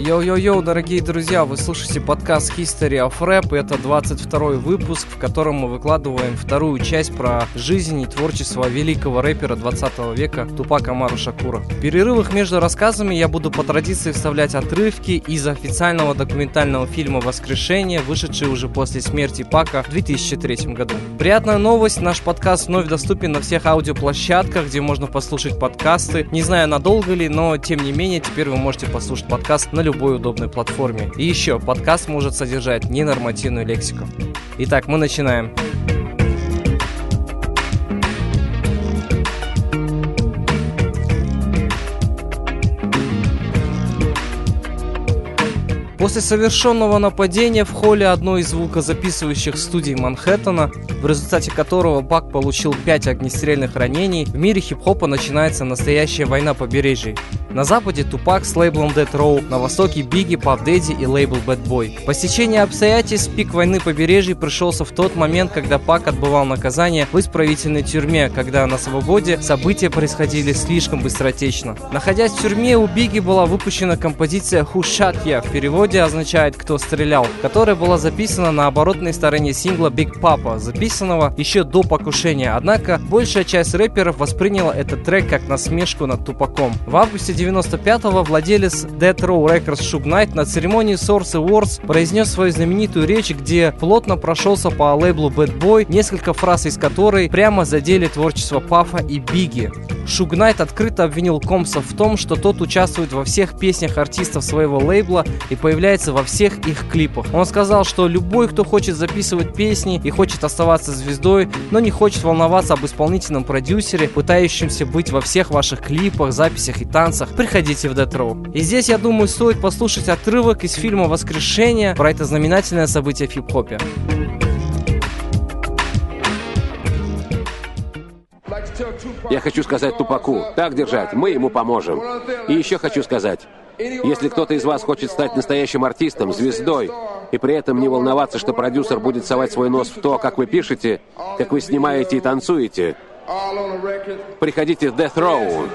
Йоу-йоу-йоу, дорогие друзья, вы слушаете подкаст History of Rap, это 22-й выпуск, в котором мы выкладываем вторую часть про жизнь и творчество великого рэпера 20 века Тупака Амару Шакура. В перерывах между рассказами я буду по традиции вставлять отрывки из официального документального фильма «Воскрешение», вышедший уже после смерти Пака в 2003 году. Приятная новость, наш подкаст вновь доступен на всех аудиоплощадках, где можно послушать подкасты. Не знаю, надолго ли, но тем не менее, теперь вы можете послушать подкаст на любой удобной платформе. И еще, подкаст может содержать ненормативную лексику. Итак, мы начинаем. После совершенного нападения в холле одной из звукозаписывающих студий Манхэттена, в результате которого Пак получил 5 огнестрельных ранений, в мире хип-хопа начинается настоящая война побережий. На западе Тупак с лейблом Death Row, на востоке Бигги, Puff Daddy и лейбл Bad Boy. По стечению обстоятельств пик войны побережий пришелся в тот момент, когда Пак отбывал наказание в исправительной тюрьме, когда на свободе события происходили слишком быстротечно. Находясь в тюрьме, у Бигги была выпущена композиция Who Shot Ya, в переводе означает «Кто стрелял», которая была записана на оборотной стороне сингла Big Papa, записанного еще до покушения. Однако большая часть рэперов восприняла этот трек как насмешку над Тупаком. В августе 95-го владелец Death Row Records Suge Knight на церемонии Source Awards произнес свою знаменитую речь, где плотно прошелся по лейблу Bad Boy, несколько фраз из которой прямо задели творчество Пафа и Бигги. Suge Knight открыто обвинил Компса в том, что тот участвует во всех песнях артистов своего лейбла и появляется во всех их клипах. Он сказал, что любой, кто хочет записывать песни и хочет оставаться звездой, но не хочет волноваться об исполнительном продюсере, пытающемся быть во всех ваших клипах, записях и танцах, приходите в Death Row. И здесь, я думаю, стоит послушать отрывок из фильма «Воскрешение» про это знаменательное событие в хип-хопе. Я хочу сказать Тупаку, так держать, мы ему поможем. И еще хочу сказать, если кто-то из вас хочет стать настоящим артистом, звездой, и при этом не волноваться, что продюсер будет совать свой нос в то, как вы пишете, как вы снимаете и танцуете, приходите в Death Row.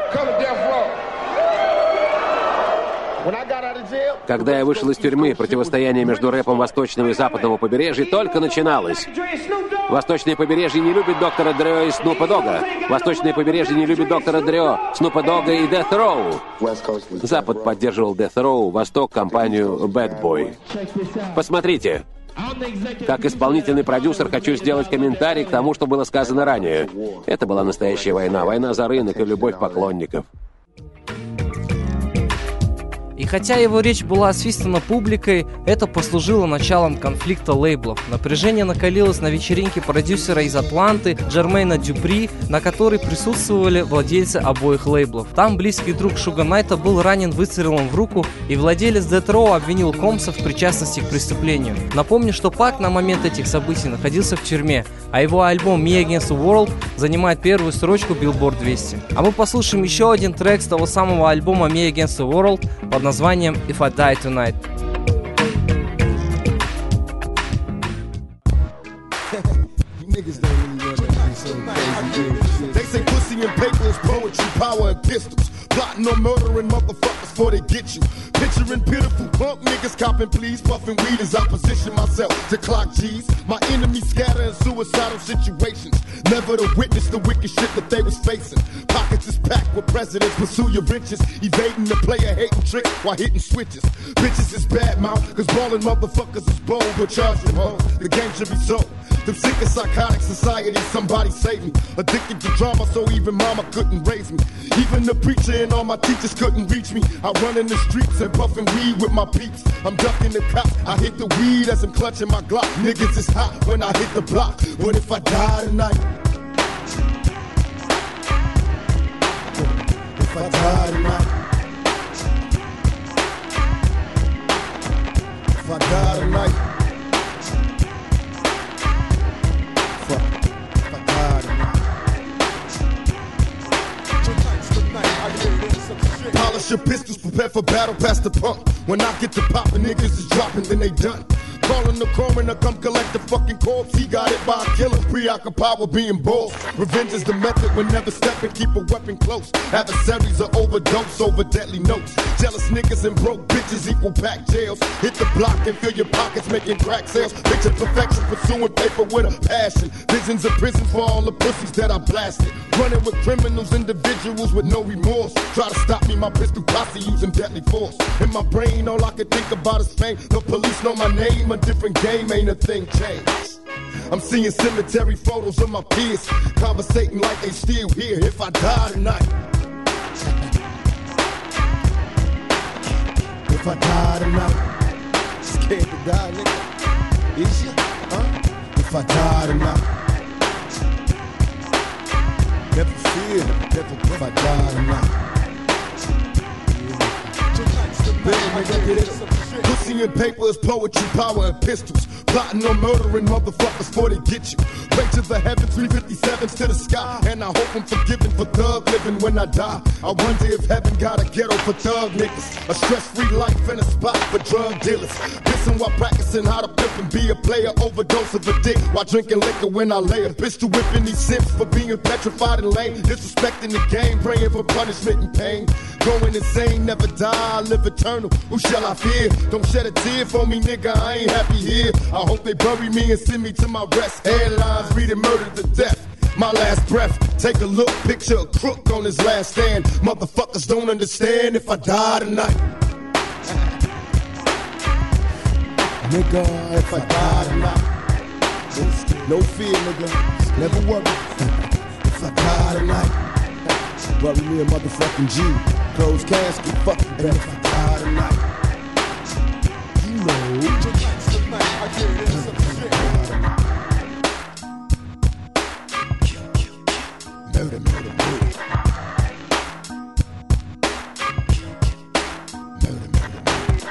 Когда я вышел из тюрьмы, противостояние между рэпом восточного и западного побережья только начиналось. Восточное побережье не любит доктора Дре и Снупа Догга. Восточное побережье не любит доктора Дре, Снупа Догга и Death Row. Запад поддерживал Death Row, Восток — компанию Bad Boy. Посмотрите. Как исполнительный продюсер хочу сделать комментарий к тому, что было сказано ранее. Это была настоящая война. Война за рынок и любовь поклонников. И хотя его речь была освистана публикой, это послужило началом конфликта лейблов. Напряжение накалилось на вечеринке продюсера из Атланты Джермейна Дюпри, на которой присутствовали владельцы обоих лейблов. Там близкий друг Шуга Найта был ранен выстрелом в руку, и владелец Death Row обвинил Компса в причастности к преступлению. Напомню, что Пак на момент этих событий находился в тюрьме, а его альбом Me Against the World занимает первую строчку Billboard 200. А мы послушаем еще один трек с того самого альбома Me Against the World под названием If I Die Tonight. They say pussy and paper is poetry, power and pistols. Plotting on murdering motherfuckers before they get you. Picturing pitiful punk niggas copping please, puffing weed as I position myself to clock G's. My enemies scatter in suicidal situations, never to witness the wicked shit that they was facing. Pockets is packed with presidents, pursue your riches, evading the player hating trick while hitting switches. Bitches is bad mouth, cause ballin' motherfuckers is bold, but charge them hoes, the game should be sold. Them sick and psychotic society, somebody save me. Addicted to drama, so even mama couldn't raise me. Even the preacher and all my teachers couldn't reach me. I run in the streets and puffin' weed with my peeps. I'm ducking the cops, I hit the weed as I'm clutching my Glock. Niggas is hot when I hit the block. What if I die tonight? If I die tonight? If I die tonight? Polish your pistols, prepare for battle, pass the pump. When I get to poppin', niggas is dropping, then they done. Calling the coroner, come collect the fucking corpse. He got it by a killer, preoccupied with being bold. Revenge is the method, when never stepping, keep a weapon close. Adversaries are overdose over deadly notes. Jealous niggas and broke bitches equal packed jails. Hit the block and fill your pockets, making crack sales. Picture perfection, pursuing paper with a passion. Visions of prisons for all the pussies that I blasted. Running with criminals, individuals with no remorse. Try to stop me, my pistol posse using deadly force. In my brain, all I can think about is fame. The police know my name, a different game, ain't a thing changed. I'm seeing cemetery photos of my peers, conversating like they still here. If I die tonight, if I die tonight, scared to die, nigga. Is you? Huh? If I die tonight, never fear, never if I die tonight. Pussy and paper is poetry, power and pistols. Plotting on murdering motherfuckers before they get you. Pray to the heavens, 357s to the sky. And I hope I'm forgiven for thug living when I die. I wonder if heaven got a ghetto for thug niggas. A stress-free life and a spot for drug dealers. Pissing while practicing how to pimp and be a player. Overdose of a dick while drinking liquor when I lay a pistol whipping these simps for being petrified and lame. Disrespecting the game, praying for punishment and pain. Going insane, never die, live eternal. Who shall I fear? Don't shed a tear for me, nigga, I ain't happy here. I hope they bury me and send me to my rest. Headlines reading murder to death. My last breath, take a look, picture a crook on his last stand. Motherfuckers don't understand if I die tonight. Nigga, if I die tonight. No fear, nigga, never worry. If I die tonight, bury me a motherfucking G. Closed casket, fuck it, and if I die tonight, you know. Murder, murder, murder. Murder, murder, murder.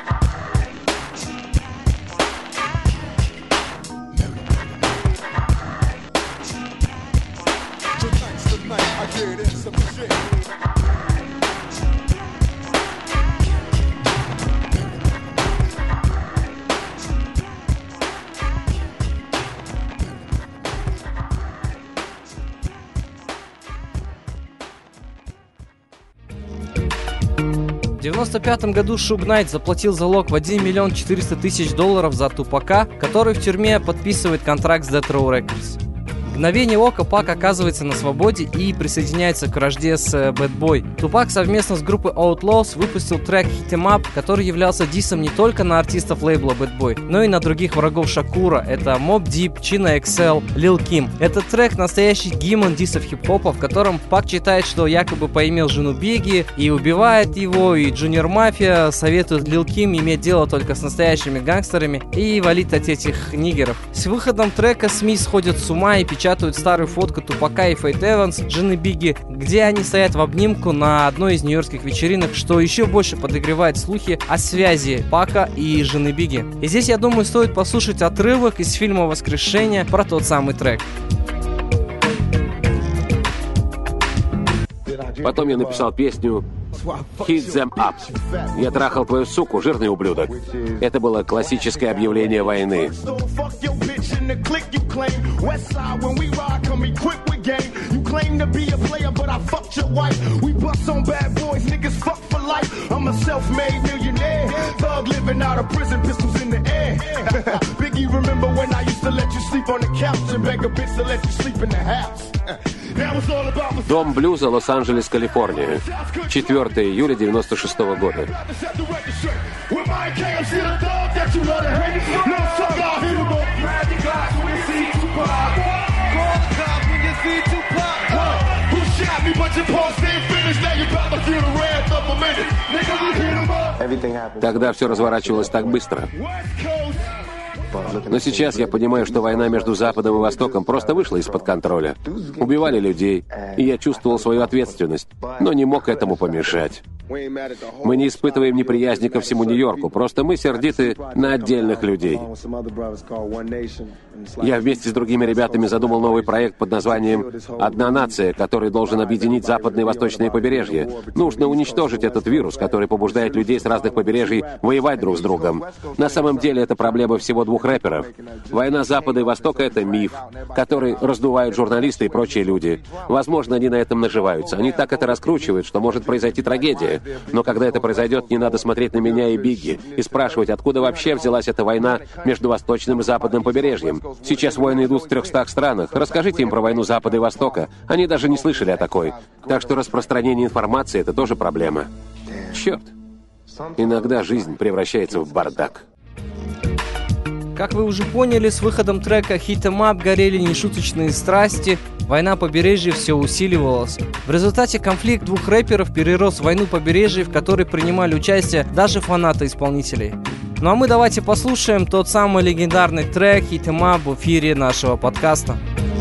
Murder, murder, murder. Tonight's the night I get in some shit. В 1995 году Шуг Найт заплатил залог в $1 миллион 400 тысяч за Тупака, который в тюрьме подписывает контракт с Death Row Records. В мгновение ока Пак оказывается на свободе и присоединяется к вражде с Bad Boy. Тупак совместно с группой Outlaws выпустил трек Hit 'Em Up, который являлся диссом не только на артистов лейбла Bad Boy, но и на других врагов Шакура. Это Mobb Deep, Chino XL, Lil Kim. Этот трек настоящий гимн диссов хип-хопа, в котором Пак считает, что якобы поимел жену Бигги и убивает его, и Junior Mafia советует Lil Kim иметь дело только с настоящими гангстерами и валить от этих нигеров. С выходом трека СМИ сходят с ума и печатают старую фотку Тупака и Фейт Эванс, жены Бигги, где они стоят в обнимку на одной из нью-йоркских вечеринок, что еще больше подогревает слухи о связи Пака и жены Бигги. И здесь, я думаю, стоит послушать отрывок из фильма «Воскрешение» про тот самый трек. Потом я написал песню «Hit them up». Я трахал твою суку, жирный ублюдок. Это было классическое объявление войны. Дом блюза, Лос-Анджелес, Калифорния. 4 июля 96 года. Тогда все разворачивалось так быстро. Но сейчас я понимаю, что война между Западом и Востоком просто вышла из-под контроля. Убивали людей, и я чувствовал свою ответственность, но не мог этому помешать. Мы не испытываем неприязни ко всему Нью-Йорку, просто мы сердиты на отдельных людей. Я вместе с другими ребятами задумал новый проект под названием «Одна нация», который должен объединить западное и восточное побережье. Нужно уничтожить этот вирус, который побуждает людей с разных побережий воевать друг с другом. На самом деле это проблема всего двух рэперов. Война Запада и Востока — это миф, который раздувают журналисты и прочие люди. Возможно, они на этом наживаются. Они так это раскручивают, что может произойти трагедия. Но когда это произойдет, не надо смотреть на меня и Бигги и спрашивать, откуда вообще взялась эта война между восточным и западным побережьем. Сейчас войны идут в 300 странах. Расскажите им про войну Запада и Востока. Они даже не слышали о такой. Так что распространение информации — это тоже проблема. Черт. Иногда жизнь превращается в бардак. Как вы уже поняли, с выходом трека Hit 'Em Up горели нешуточные страсти, война побережья все усиливалась. В результате конфликт двух рэперов перерос в войну побережья, в которой принимали участие даже фанаты исполнителей. Ну а мы давайте послушаем тот самый легендарный трек Hit 'Em Up в эфире нашего подкаста.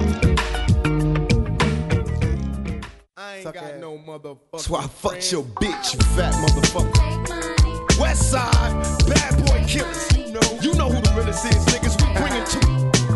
So I fucked your bitch, you fat motherfucker. Westside, bad boy killers. You know who the realest is, niggas. We bring it to you.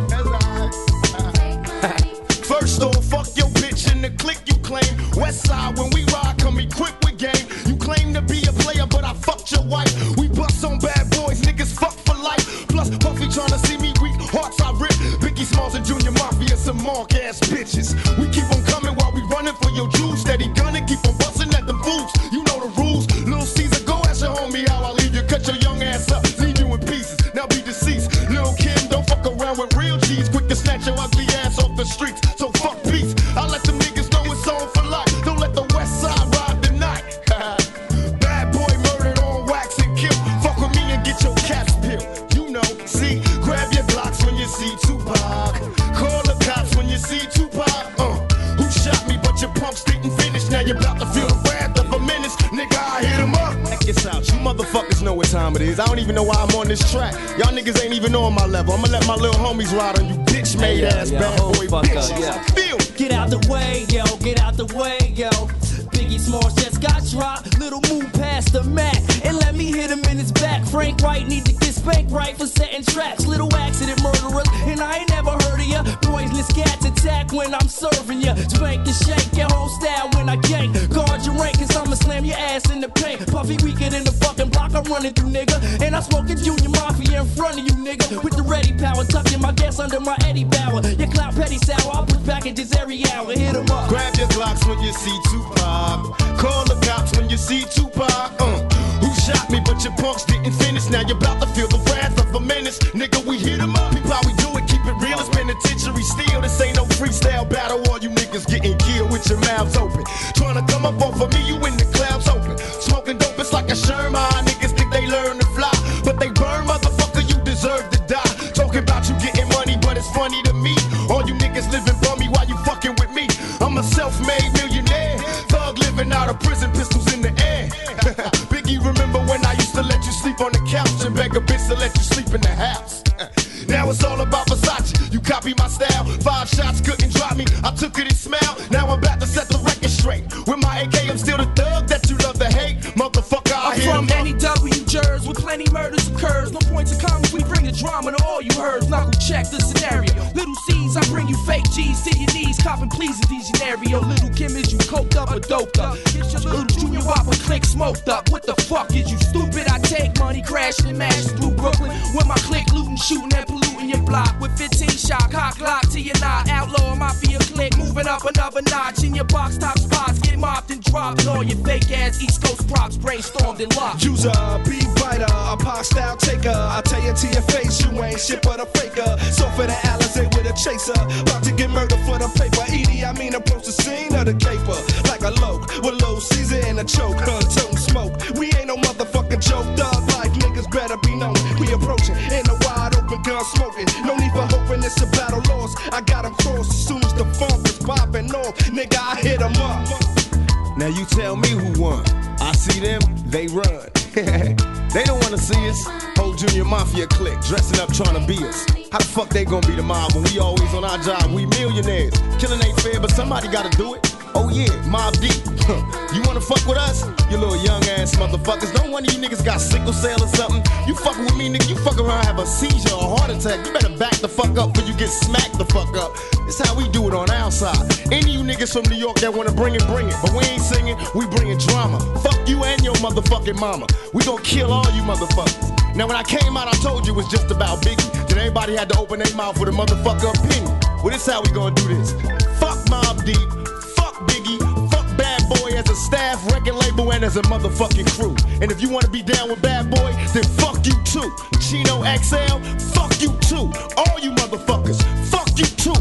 First off, fuck your bitch in the clique you claim. Westside, when we ride, come equipped with game. You claim to be a player, but I fucked your wife. We bust on bad boys, niggas fuck for life. Plus, Puffy tryna see me weak, hearts I rip. Biggie Smalls and Junior Mafia, some mark-ass bitches. We keep on coming while we running for your jewels. Steady gunning, keep on busting at them fools. You know the rules. Lil' Caesar, go ask your homie how I leave you. Cut your young ass up, leave you in pieces. Now be deceased. Lil' Kim, don't fuck around with real G's. Quick to snatch your ugly ass off the streets. So fuck peace. I let them niggas know it's on for life. Don't let the West Side ride the night. Bad boy murdered on wax and kill. Fuck with me and get your caps peeled. You know, see, grab your Glocks when you see Tupac. Call the cops when you see Tupac. Who shot me but your pumps didn't finish. Now you're about to feel the wrath of a menace. Nigga, I hit him up. Check this out, you motherfuckers know what time it is. I don't even know why I'm on this track. Y'all niggas ain't even on my level. I'ma let my little homies ride on you bitch-made ass bad boy bitches. Feel. Get out the way, yo, get out the way, yo. Biggie Smalls just got dropped. Little move past the Mac and let me hit him in his back. Frank White need to get spanked right for setting traps. Little accident murderers, and I ain't never heard of ya. Poisonous cats attack when I'm serving ya. Spank and shake your whole style when I gank. Guard your rank, cause I'ma slam your ass in the paint. Puffy weaker than the fucking block I'm running through, nigga. And I'm smoking Junior Mafia in front of you, nigga. With the ready power, tucking my gas under my Eddie Bauer. Your clout petty sour, I'll put packages every hour. Hit 'em up. Grab your Glocks when you see Tupac. Call the cops when you see Tupac. Who shot me but your punks didn't finish. Now you're about to feel the wrath of a menace. Nigga, we hit 'em up. People, how we do it, keep it real. It's penitentiary steel. This ain't no freestyle battle. All you niggas getting killed with your mouths open. Trying to come up off of me, you in the clouds open. Smoking dope, it's like a Sherman. Niggas think they learn to fly, but they burn, motherfucker, you deserve to die. Talking about you getting money, but it's funny to me. All you niggas living bummy while you fucking with me. I'm a self-made millionaire. Thug living out of prison, pistols in the air. Biggie, remember when I used to let you sleep on the couch and beg a bitch to let you sleep in the house? Now it's all about Versace. You copy my style. 5 shots couldn't drop me. I took it and smiled. Now I'm about to set the record straight. With my AK, I'm still the thug that you love to hate. Motherfucker, I'm from NEW Jersey, with plenty murders occurs. No points of comments, we bring the drama to all you heard. Knuckle check the scenario. Little C's, I bring you fake G's to your knees. Copping please in these scenario. Little Kim, is you coked up or doped up? Get your little Junior Whopper click smoked up. What the fuck is you stupid? I take money, crashing and mashing through Brooklyn. With my click looting, shooting and polluting your block. With 15 shot, cock lock to your knot. Outlaw mafia click, moving up another notch. In your box top spots, get mopped and dropped. And all your fake ass East Coast props brainstormed and locked. User, beat biter, a pop style taker. I tell you to your face, you ain't shit but a faker. So for the Alizé with a chaser, about to get murdered for the paper. Edie, I mean approach the scene of the caper. Like a loke, with low Caesar in a choke. Toting smoke, we ain't no motherfucking joke. Thug life, niggas better be known. We approaching in a wide open gun smoking. No need for hoping it's a battle lost. I got him crossed as soon as the funk is popping off. Nigga, I hit him up. Now you tell me who won. I see them, they run. They don't wanna see us. Whole Junior Mafia clique, dressing up trying to be us. How the fuck they gonna be the mob when we always on our job? We millionaires. Killing ain't fair, but somebody gotta do it. Oh yeah, Mob Deep. You wanna fuck with us? You little young ass motherfuckers. Don't one of you niggas got sickle cell or something? You fucking with me, nigga, you fuck around, have a seizure or a heart attack. You better back the fuck up before you get smacked the fuck up. It's how we do it on our side. Any of you niggas from New York that wanna bring it, bring it. But we ain't singing, we bringing drama. Fuck you and your motherfucking mama. We gon' kill all you motherfuckers. Now when I came out, I told you it was just about Biggie. Then everybody had to open their mouth with a motherfucker opinion. Well, this how we gonna do this. Fuck Mobb Deep, fuck Biggie, fuck Bad Boy as a staff, record label, and as a motherfucking crew. And if you wanna be down with Bad Boy, then fuck you too. Chino XL, fuck you too. All you motherfuckers, fuck you too.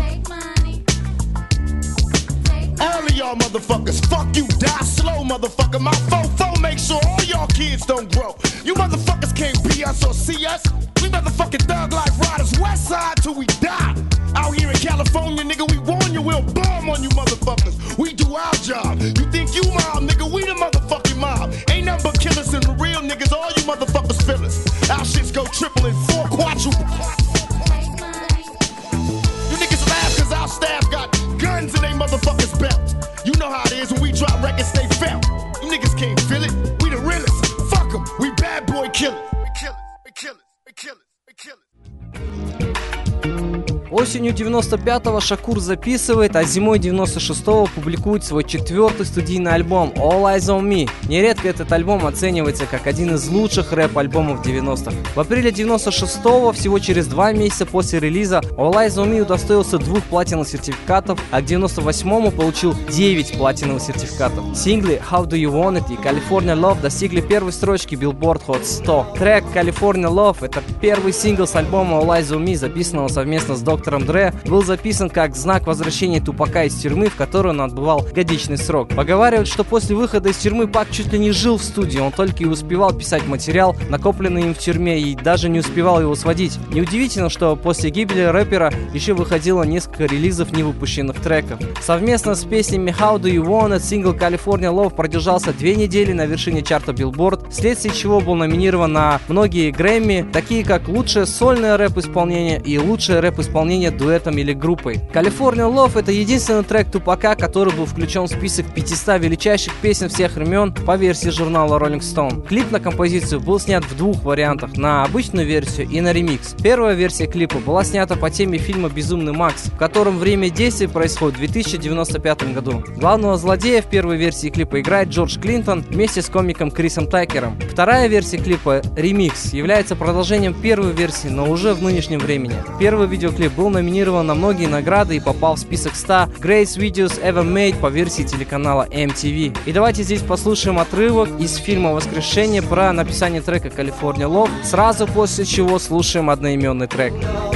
All of y'all motherfuckers, fuck you, die slow, motherfucker. My fofo make sure all y'all kids don't grow. You motherfuckers can't be us or see us. We motherfucking thug life riders, west side till we die. Out here in California, nigga, we warn you, we'll bomb on you motherfuckers. We do our job. You think you mob, nigga, we the motherfucking mob. Ain't nothing but killers and the real niggas, all you motherfuckers feel us. Our shits go triple and four quadruple. You niggas laugh cause our staff got guns in they motherfuckers' belts. You know how it is when we drop records, they felt. You niggas can't feel it, we the realest. Fuck them, we Bad Boy killers. We killers, we killers, we killers, we killers. Осенью 95-го Шакур записывает, а зимой 96-го публикует свой 4-й студийный альбом All Eyes on Me. Нередко этот альбом оценивается как один из лучших рэп-альбомов 90-х. В апреле 96-го, всего через 2 месяца после релиза, All Eyes on Me удостоился 2 платиновых сертификатов, а к 98-му получил 9 платиновых сертификатов. Синглы How Do You Want It и California Love достигли первой строчки Billboard Hot 100. Трек California Love — это первый сингл с альбома All Eyes on Me, записанного совместно с Доктором Дре, был записан как знак возвращения Тупака из тюрьмы, в которой он отбывал годичный срок. Поговаривают, что после выхода из тюрьмы Пак чуть ли не жил в студии, он только и успевал писать материал, накопленный им в тюрьме, и даже не успевал его сводить. Неудивительно, что после гибели рэпера еще выходило несколько релизов невыпущенных треков. Совместно с песнями How Do You Want It сингл California Love продержался 2 недели на вершине чарта Billboard, вследствие чего был номинирован на многие Грэмми, такие как лучшее сольное рэп-исполнение и лучшее рэп-исполнение дуэтом или группой. California Love — это единственный трек Тупака, который был включен в список 500 величайших песен всех времен по версии журнала Rolling Stone. Клип на композицию был снят в 2 вариантах: на обычную версию и на ремикс. Первая версия клипа была снята по теме фильма «Безумный Макс», в котором время действия происходит в 2095 году. Главного злодея в первой версии клипа играет Джордж Клинтон вместе с комиком Крисом Такером. Вторая версия клипа «Ремикс» является продолжением первой версии, но уже в нынешнем времени. Первый видеоклип был номинирован на многие награды и попал в список 100 Greatest Videos Ever Made по версии телеканала MTV. И давайте здесь послушаем отрывок из фильма «Воскрешение» про написание трека California Love, сразу после чего слушаем одноименный трек.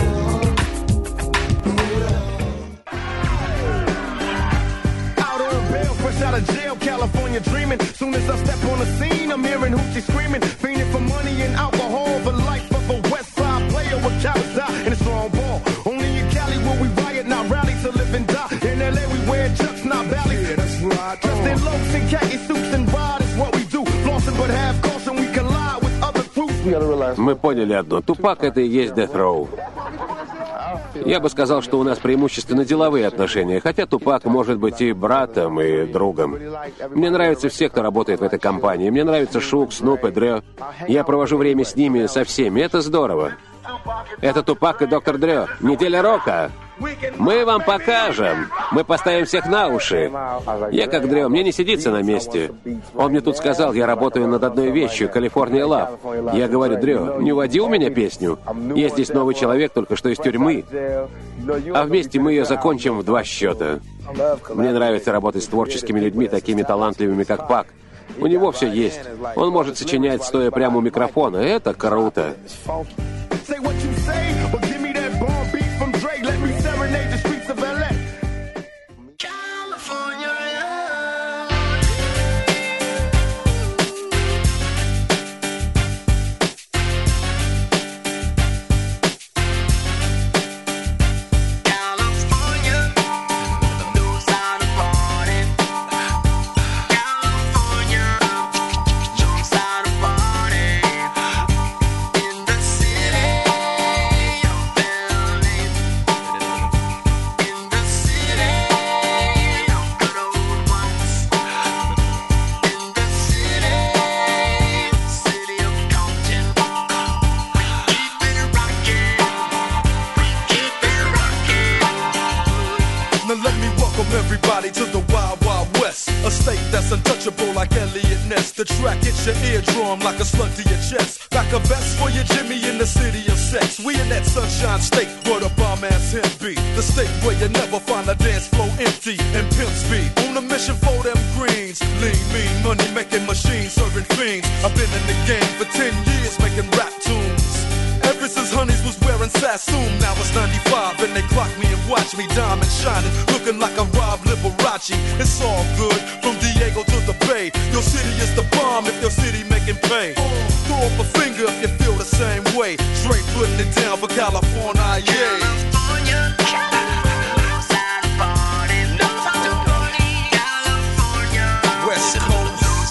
Мы поняли одно. Тупак — это и есть Death Row. Я бы сказал, что у нас преимущественно деловые отношения, хотя Тупак может быть и братом, и другом. Мне нравятся все, кто работает в этой компании. Мне нравятся Шук, Снуп и Дре. Я провожу время с ними, со всеми. Это здорово. Это Тупак и Доктор Дре. Неделя рока. Мы вам покажем. Мы поставим всех на уши. Я как Дре, мне не сидится на месте. Он мне тут сказал, я работаю над одной вещью, California Love. Я говорю: Дре, не уводи у меня песню. Я здесь новый человек, только что из тюрьмы. А вместе мы ее закончим в 2 счета. Мне нравится работать с творческими людьми, такими талантливыми, как Пак. У него все есть. Он может сочинять, стоя прямо у микрофона. Это круто. City The track hits your eardrum like a slug to your chest. Back a vest for your Jimmy in the city of sex. We in that sunshine state where the bomb ass him be. The state where you never find a dance floor empty and pimp speed. On a mission for them greens. Lean, mean, money making machines, serving fiends. I've been in the game for 10 years making rap tunes. Ever since Honeys was wearing Sassoon, now it's 95 and they clock me and watch me diamond shining, looking like a Rob Liberace. It's all good from Diego to the Bay. Your city is the bomb if your city making pay. Throw up a finger if you feel the same way. Straight putting it down for California, yeah. West Coast.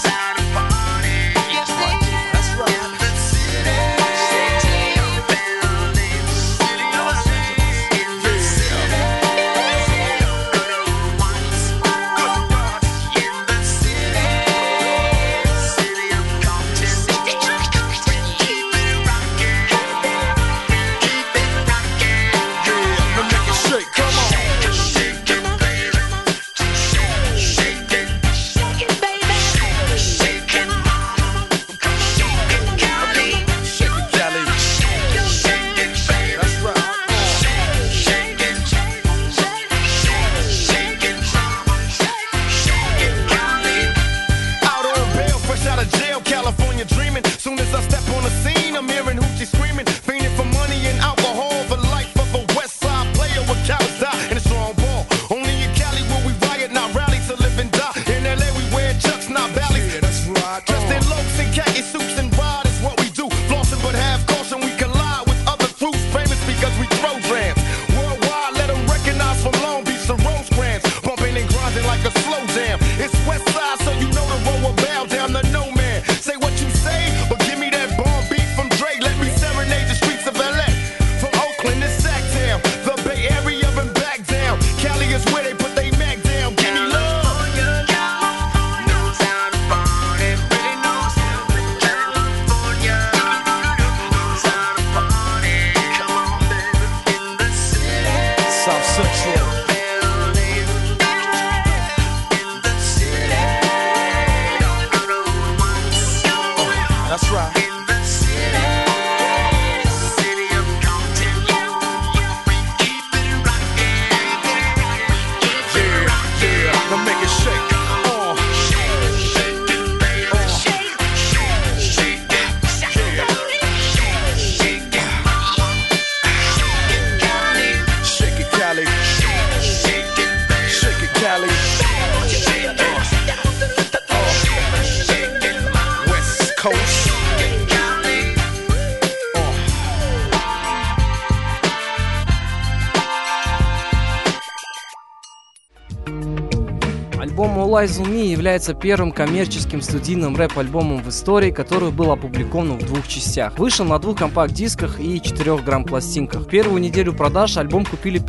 Альбом All Eyes on Me является первым коммерческим студийным рэп-альбомом в истории, который был опубликован в двух частях. Вышел на 2 компакт-дисках и 4-грамм-пластинках. Первую неделю продаж альбом купили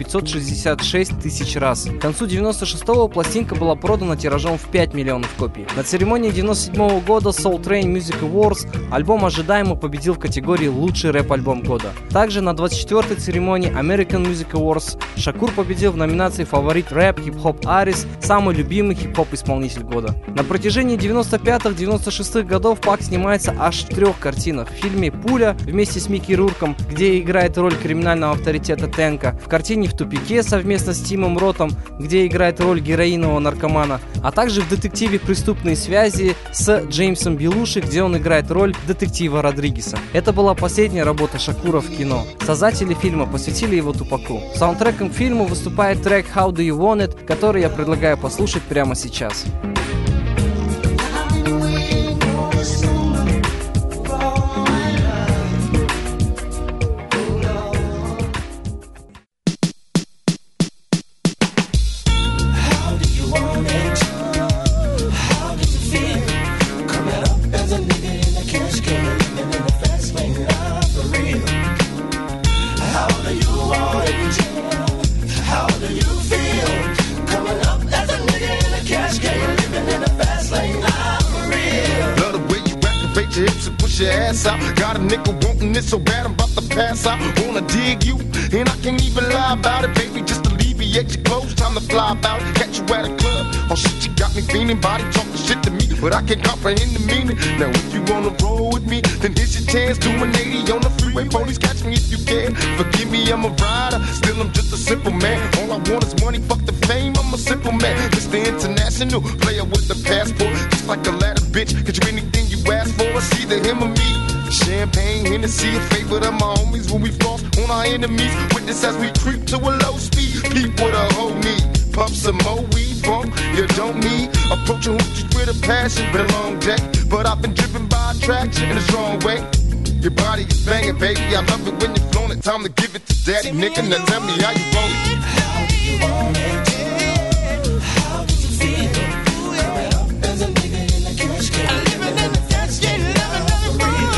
566 тысяч раз. К концу 96-го пластинка была продана тиражом в 5 миллионов копий. На церемонии 97-го года Soul Train Music Awards альбом ожидаемо победил в категории «Лучший рэп-альбом года». Также на 24-й церемонии American Music Awards Шакур победил в номинации «Фаворит рэп, хип-хоп артист», «Самый любимый хип-хоп-исполнитель года». На протяжении 95-96 годов Пак снимается аж в 3 картинах. В фильме «Пуля» вместе с Микки Рурком, где играет роль криминального авторитета Тэнка, в картине «В тупике» совместно с Тимом Ротом, где играет роль героинового наркомана, а также в детективе «Преступные связи» с Джеймсом Белуши, где он играет роль детектива Родригеса. Это была последняя работа Шакура в кино. Создатели фильма посвятили его Тупаку. Саундтреком к фильму выступает трек «How Do You Want It», который я предлагаю послушать прямо сейчас. Your ass out. Got a nigga wanting it so bad I'm about to pass out. Wanna dig you, and I can't even lie about it, baby. Just alleviate alleviate your clothes, time to fly about, catch you at a club. Oh shit, you got me feeling, body talking shit to me, but I can't comprehend the meaning. Now if you wanna roll with me, then here's your chance. Do an 80 on the freeway, police catch me if you can. Forgive me, I'm a rider, still I'm just a simple man. All I want is money, fuck the fame, I'm a simple man. Mr. International, player with the passport, just like a ladder, bitch. Get you anything you ask for, it's either him or me. Champagne, Hennessy, a favorite of my homies when we floss on our enemies. Witness as we creep to a low speed. Peep what a hoe need. Pump some more weed from you don't need. Approaching hoochies with a passion, been a long day, but I've been driven by attraction in a strong way. Your body is banging, baby. I love it when you're flown it. Time to give it to daddy, nigga. Now tell me how you want it. How do you want it? How do you feel? Coming up as a nigga in the cash game. Living in the cash game, living in the real.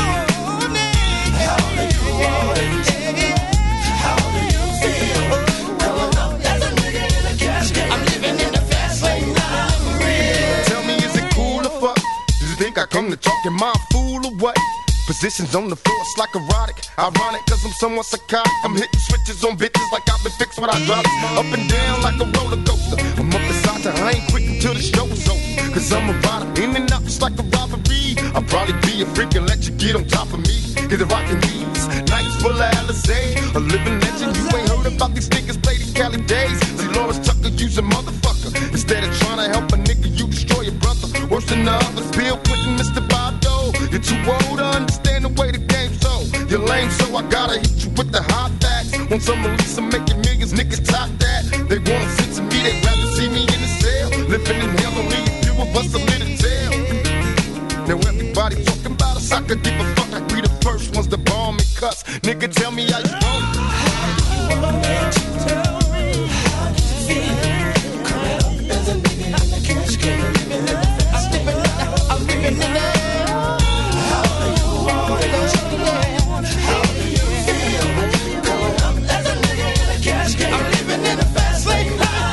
How do you want it? How do you feel? Coming up as a nigga in the cash game. I'm living in the fast lane, not for real. Tell me, is it cool or fuck? Do you think I come to talk? Am I a fool or what? Positions on the floor, it's like erotic. Ironic, cause I'm somewhat psychotic. I'm hitting switches on bitches like I've been fixed when I drop it. Up and down like a roller coaster. I'm up beside her, I ain't quick until the show is over. Cause I'm a rider, in and out just like a robbery. I'll probably be a freak and let you get on top of me. Get the rockin' knees, nights full of Alizé. A living legend, you ain't heard about these niggas play these Cali days. See Lawrence Tucker, use a motherfucker. Instead of trying to help a nigga, you destroy your brother. Worse than the others, Bill Clinton, Mr. Bob Dole. You're too old to understand the way the game's so. You're lame, so I gotta hit you with the hot facts. Want some release, I'm making millions, niggas top that. They wanna sit to me, they'd rather see me in the cell. Living in hell, only a few of us are in tell. Now everybody talking about us, I could give a fuck. I be the first ones to bomb and cuss. Nigga, tell me how you want it. How do you want it? Tell me, how do you feel? Coming up as a nigga in the cash game. Living in the fast lane, I'm living in the. How do you want it? How do you feel? Coming up as a nigga in the cash game. I'm living in the fast lane,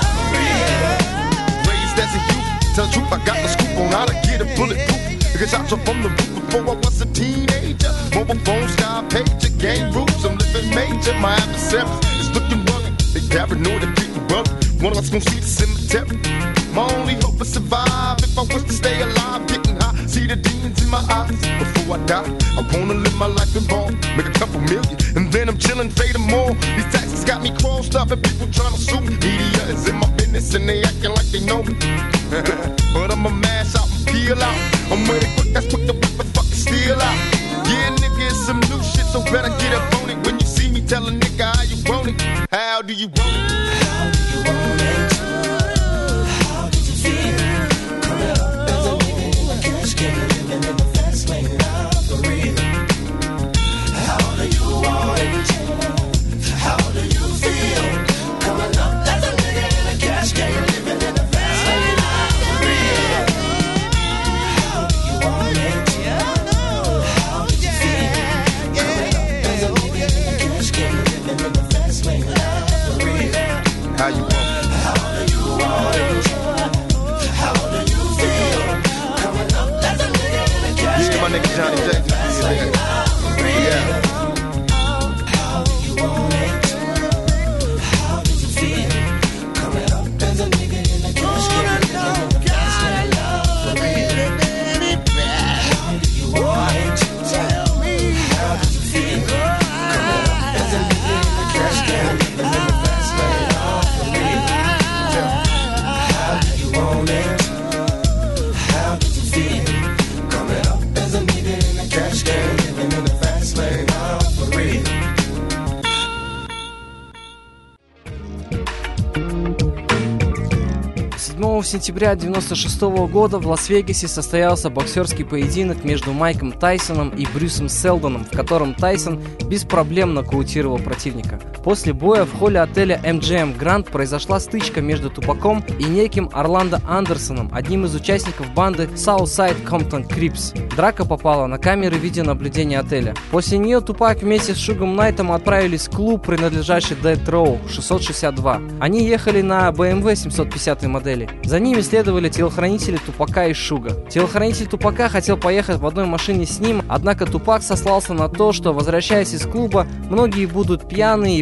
Raised as a youth, tell the truth, I got the scoop on how to get a bulletproof. Niggas shots up from the roof before I was a teenager. Mobile phone, sky pager, game rules, I'm living major. My adversaries is looking rugged. They paranoid and beating bugged. One of us gon' see the cemetery. My only hope is survive. If I was to stay alive, getting high, see the demons in my eyes. Before I die, I wanna live my life in ball, make a couple million, and then I'm chillin', fading more. These taxes got me crossed up and people tryna sue me. Media is in my business and they acting like they know me. But I'ma mash out and peel out. I'm with it quick, that's quick to whip the fucking steel out. Yeah, nigga, it's some new shit, so better get up on it. When you see me, tell a nigga how you want it. How do you want it? How do you want it? How did you feel? Coming up as a nigga in the cash game, living in the fast lane, not for real. How do you want it? How do you feel? Coming up as a nigga in the cash game, living in the fast lane, not for real. How do you want it? How did you feel? Coming up as a nigga in the cash game, living in the fast lane, not for real. How you want it? How do you want it? How do you feel? Coming up as a nigga in the cash game. Yeah, my nigga Johnny Jackson. Yeah. How do you want it? How did you feel? Coming up as a nigga in the cash game. Living in the fast lane, for real. How do you want it? Tell me. How did you feel? Coming up as a nigga in the cash game. Living in the fast lane, for real. How do you want it? How did you feel? Coming up as a nigga in the cash game, living in the fast lane, for real. 7 сентября 1996 года в Лас-Вегасе состоялся боксерский поединок между Майком Тайсоном и Брюсом Селдоном, в котором Тайсон без проблем нокаутировал противника. После боя в холле отеля MGM Grand произошла стычка между Тупаком и неким Орландо Андерсоном, одним из участников банды Southside Compton Crips. Драка попала на камеры видеонаблюдения отеля. После нее Тупак вместе с Шугом Найтом отправились в клуб, принадлежащий Death Row 662. Они ехали на BMW 750 модели. За ними следовали телохранители Тупака и Шуга. Телохранитель Тупака хотел поехать в одной машине с ним, однако Тупак сослался на то, что, возвращаясь из клуба, многие будут пьяные и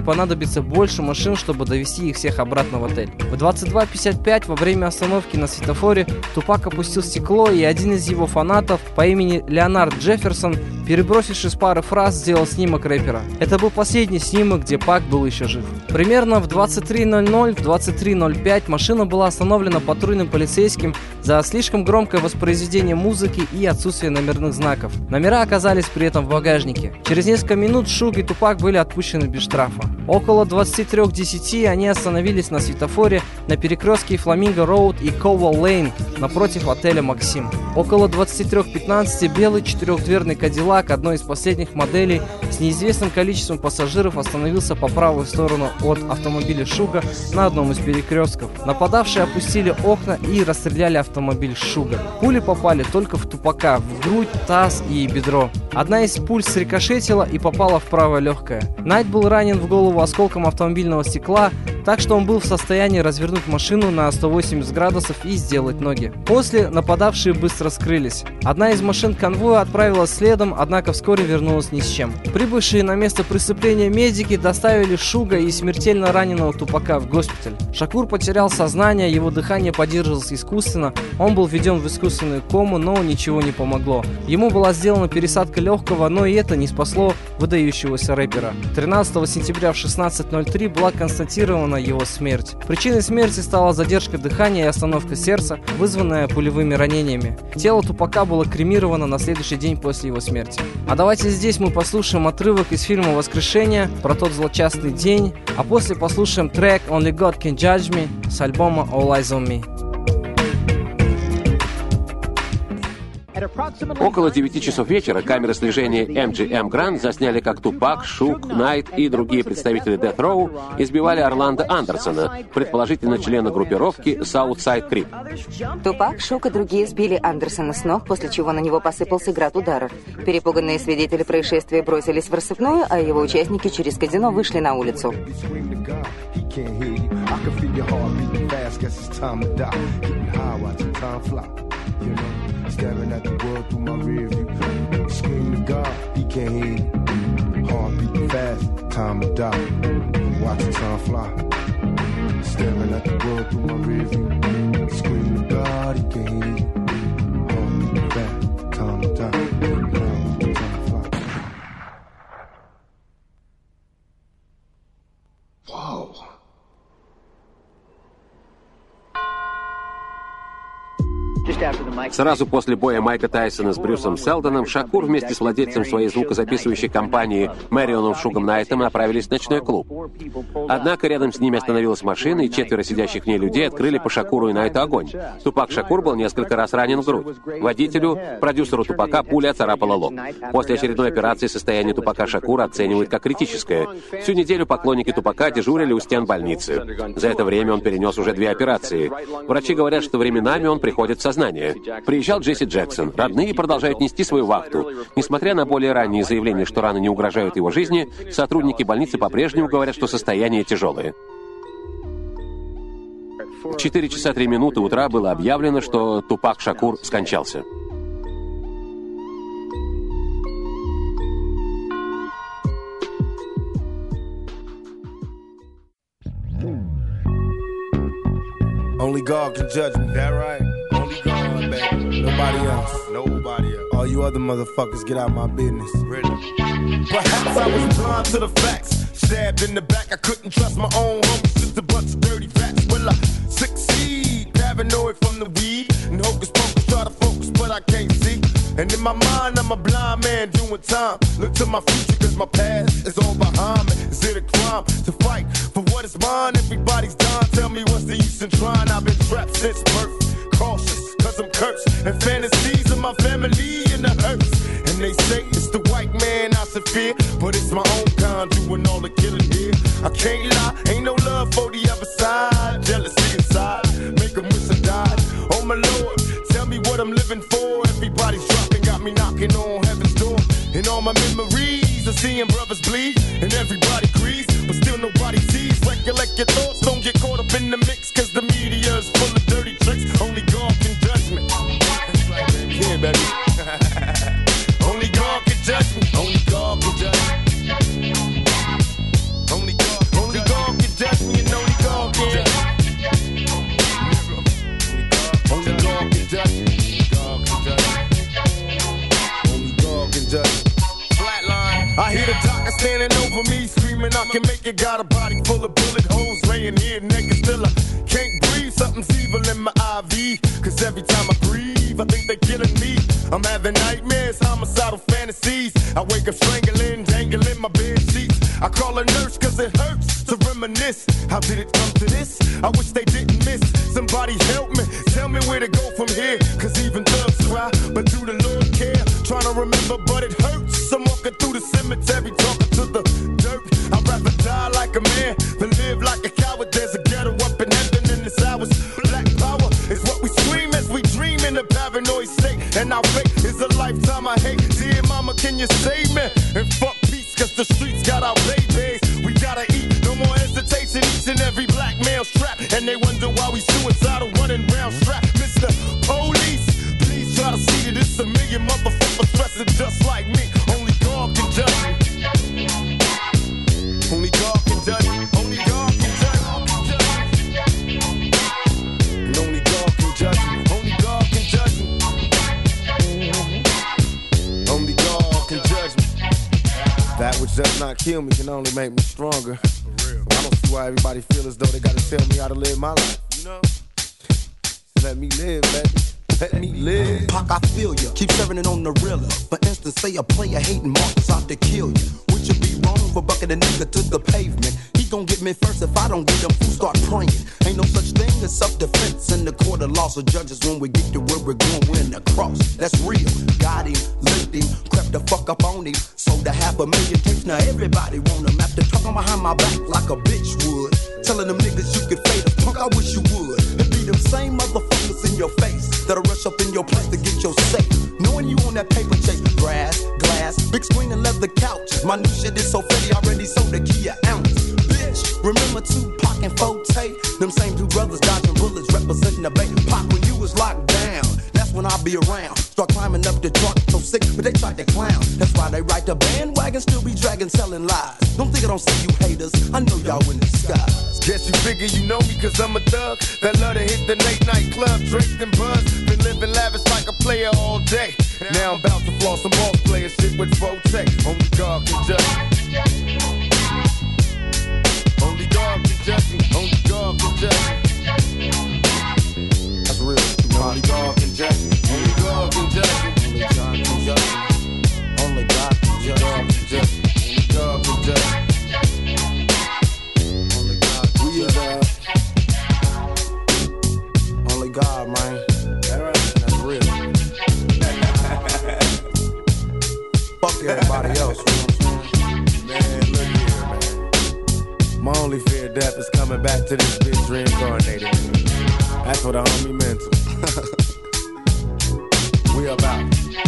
понадобится больше машин, чтобы довести их всех обратно в отель. В 22:55 во время остановки на светофоре Тупак опустил стекло, и один из его фанатов по имени Леонард Джефферсон, перебросившись пары фраз, сделал снимок рэпера. Это был последний снимок, где Пак был еще жив. Примерно в 23:00, в 23:05 машина была остановлена патрульным полицейским за слишком громкое воспроизведение музыки и отсутствие номерных знаков. Номера оказались при этом в багажнике. Через несколько минут Шуг и Тупак были отпущены без штрафа. Около 23:10 они остановились на светофоре на перекрестке Фламинго Роуд и Коуэлл Лейн напротив отеля Максим. Около 23:15 белый четырехдверный Кадиллак одной из последних моделей с неизвестным количеством пассажиров остановился по правую сторону от автомобиля Шуга на одном из перекрестков. Нападавшие опустили окна и расстреляли автомобиль Шуга. Пули попали только в Тупака, в грудь, таз и бедро. Одна из пуль срикошетила и попала в правое легкое. Найт был ранен в голову осколком автомобильного стекла, так что он был в состоянии развернуть машину на 180 градусов и сделать ноги. После нападавшие быстро скрылись. Одна из машин конвоя отправилась следом, однако вскоре вернулась ни с чем. Прибывшие на место преступления медики доставили Шуга и смертельно раненого Тупака в госпиталь. Шакур потерял сознание, его дыхание поддерживалось искусственно, он был введен в искусственную кому, но ничего не помогло. Ему была сделана пересадка легкого, но и это не спасло выдающегося рэпера. 13 сентября в 16:03 была констатирована его смерть. Причиной смерти стала задержка дыхания и остановка сердца, вызванная пулевыми ранениями. Тело Тупака было кремировано на следующий день после его смерти. А давайте здесь мы послушаем отрывок из фильма «Воскрешение» про тот злочастный день, а после послушаем трек «Only God Can Judge Me» с альбома All Eyes on Me. Около 9 часов вечера камеры слежения MGM Grand засняли, как Тупак, Шуг, Найт и другие представители Death Row избивали Орландо Андерсона, предположительно члена группировки Southside Creep. Тупак, Шуг и другие сбили Андерсона с ног, после чего на него посыпался град ударов. Перепуганные свидетели происшествия бросились в рассыпную, а его участники через казино вышли на улицу. Staring at the world through my rear view. Scream to God, he can't hear you. Heart beating fast, time to die. Watch the time fly. Staring at the world through my rear view. Scream to God, he can't hear you. Heart beating fast, time to die. Watch the time fly. Wow. Сразу после боя Майка Тайсона с Брюсом Селдоном Шакур вместе с владельцем своей звукозаписывающей компании Мэрионом Шугом Найтом направились в ночной клуб. Однако рядом с ними остановилась машина, и 4 сидящих в ней людей открыли по Шакуру и Найту огонь. Тупак Шакур был несколько раз ранен в грудь. Водителю, продюсеру Тупака, пуля оцарапала лоб. После очередной операции состояние Тупака Шакура оценивают как критическое. Всю неделю поклонники Тупака дежурили у стен больницы. За это время он перенес уже 2 операции. Врачи говорят, что временами он приходит в сознание. Приезжал Джесси Джексон. Родные продолжают нести свою вахту. Несмотря на более ранние заявления, что раны не угрожают его жизни, сотрудники больницы по-прежнему говорят, что состояние тяжелое. В 4 часа 3 минуты утра было объявлено, что Тупак Шакур скончался. Only God can judge me. That right? Only God, baby. Nobody else. Nobody else. All you other motherfuckers, get out my business. Really? Perhaps I was blind to the facts. Stabbed in the back, I couldn't trust my own homies. Just a bunch of dirty facts. Will I succeed? Paranoid from the weed. And hocus pocus, try to focus, but I can't see. And in my mind, I'm a blind man doing time. Look to my future, cause my past is all behind me. Is it a crime to fight for what is mine? Everybody's dying, tell me what's the use in trying? I've been trapped since birth, cautious, cause I'm cursed. And fantasies of my family in the hurts. And they say it's the white man I should fear, but it's my own kind doing all the killing here. I can't lie, ain't no love for the other side. Jealousy inside, make them wish I died. Oh my Lord, tell me what I'm living for. Everybody's dropping, got me knocking on heaven's door. And all my memories of seeing brothers bleed. And everybody agrees, but still nobody sees. Recollect your thoughts, don't get caught up in the mix. Cause the media is full of dirty tricks. Only God can judge me. Yeah, baby. Only God can judge me. Only God can judge me. Only God doctor standing over me, screaming I can make it. Got a body full of bullet holes, laying here naked. Still I can't breathe, something's evil in my IV. Cause every time I breathe, I think they're killing me. I'm having nightmares, homicidal fantasies. I wake up strangling, dangling my bed sheets. I call a nurse cause it hurts to reminisce. How did it come to this? I wish they didn't miss. Somebody help me, tell me where to go from here. Cause even thugs cry, but do the Lord care? Trying to remember, but it hurts. I'm walking through the cemetery, talking to the dirt. I'd rather die like a man than live like a coward. There's a ghetto up in heaven in this hours. Black power is what we scream as we dream in a paranoid state. And our fate is a lifetime I hate. Dear mama, can you save me? And fuck peace, cause the streets got our babies. We gotta eat, no more hesitation. Each and every black male's trapped. And they wonder why we suicidal running round strapped. Mr. Police, please try to see that it's a million motherfuckers stressing just like me. Only God can judge me. Only God can judge me. Only God can judge me. And only God can judge me. Only God can judge me. Only God can judge me. That which does not kill me can only make me stronger. I don't see why everybody feel as though they gotta tell me how to live my life, you know? Let me live, baby. Let me live. Pac, I feel ya. Keep serving it on the realer. For instance, say a player hating Marcus out to kill you. Would you be wrong for bucking a nigga to the pavement? He gon' get me first if I don't get him. Fools start praying. Ain't no such thing as self-defense in the court of law. So judges, when we get to where we're going, we're in the cross. That's real. Got him, licked him, crept the fuck up on him. Sold a 500,000 tapes. Now everybody want him. After talking behind my back like a bitch would. Telling them niggas you could fade us. Punk, I wish you would. It be them same motherfuckers in your face that'll rush up in your place to get your safe. Knowing you on that paper chase, grass, glass, big screen and leather couches. My new shit is so fatty, already sold a key an ounce. Bitch, remember Tupac and Forte? Them same two brothers dodging bullets, representing the Bay. Pac, when you was locked down, that's when I'll be around. Start climbing up the truck, so sick, but they tried to clown. That's why they ride the bandwagon, still be dragging, selling lies. Don't think I don't see you haters, I know y'all in disguise. Guess you figure you know me cause I'm a thug that love to hit the late night club, drink and buzz. Been living lavish like a player all day. Now I'm about to floss some boss player shit with Forte. Only God can judge me. Only God can judge me. Only God can judge me. That's real. Only God can judge me. Only God can judge me. Only God can judge me. Only God can judge me. Only God can judge me. Only God, man. That's real. Fuck everybody else, you know what I'm saying? Man, look here, man. My only fear of death is coming back to this bitch reincarnated. That's what the homie meant to. We about.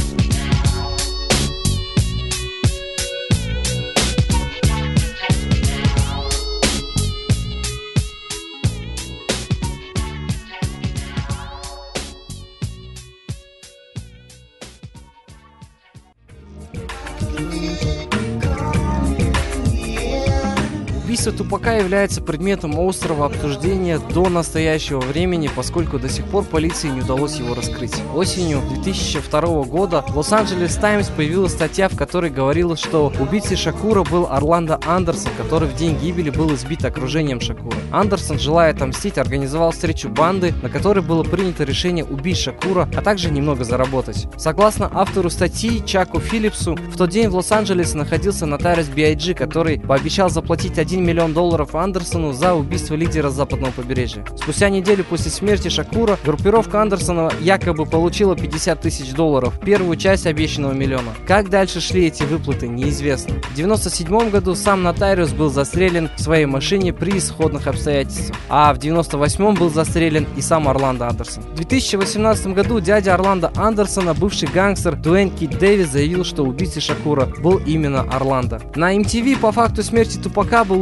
Убийство Тупака является предметом острого обсуждения до настоящего времени, поскольку до сих пор полиции не удалось его раскрыть. Осенью 2002 года в Лос-Анджелес Таймс появилась статья, в которой говорилось, что убийцей Шакура был Орландо Андерсон, который в день гибели был избит окружением Шакура. Андерсон, желая отомстить, организовал встречу банды, на которой было принято решение убить Шакура, а также немного заработать. Согласно автору статьи Чаку Филлипсу, в тот день в Лос-Анджелесе находился нотариус B.I.G., который пообещал заплатить $1 миллион Андерсону за убийство лидера западного побережья. Спустя неделю после смерти Шакура группировка Андерсона якобы получила $50 тысяч, первую часть обещанного миллиона. Как дальше шли эти выплаты, неизвестно. В 1997 году сам нотариус был застрелен в своей машине при исходных обстоятельствах, а в 1998 был застрелен и сам Орландо Андерсон. В 2018 году дядя Орландо Андерсона, бывший гангстер Дуэйн Кит Дэвис, заявил, что убийцей Шакура был именно Орландо. На MTV по факту смерти Тупака был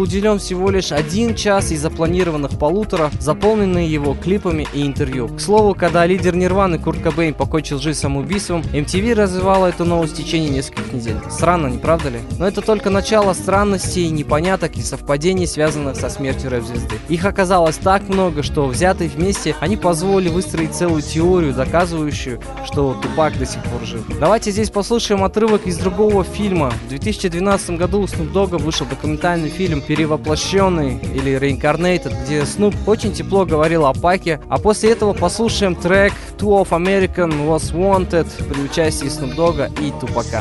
уделен всего лишь 1 час из запланированных 1,5, заполненные его клипами и интервью. К слову, когда лидер Нирваны Курт Кобейн покончил жизнь самоубийством, MTV развивала эту новость в течение нескольких недель. Странно, не правда ли? Но это только начало странностей, непоняток и совпадений, связанных со смертью рэп-звезды. Их оказалось так много, что взятые вместе они позволили выстроить целую теорию, доказывающую, что Тупак до сих пор жив. Давайте здесь послушаем отрывок из другого фильма. В 2012 году у Snoop Dogg вышел документальный фильм «Перевоплощенный» или «Reincarnated», где Snoop очень тепло говорил о Паке, а после этого послушаем трек «Two of American Was Wanted» при участии Snoop Dogg и Тупака.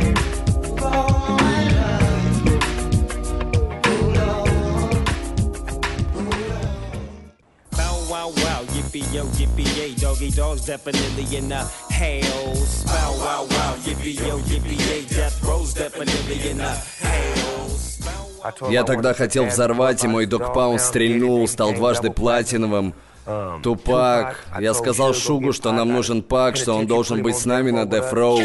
Yo, yippee-yay, doggy dogs definitely in the hells. Bow, wow, wow, yippee-yo, yippee-yay, death row's definitely in the hells. Я тогда хотел взорвать, и мой Dogg Pound стрельнул, стал дважды платиновым. Тупак. Я сказал Шугу, что нам нужен Пак, что он должен быть с нами на Death Row.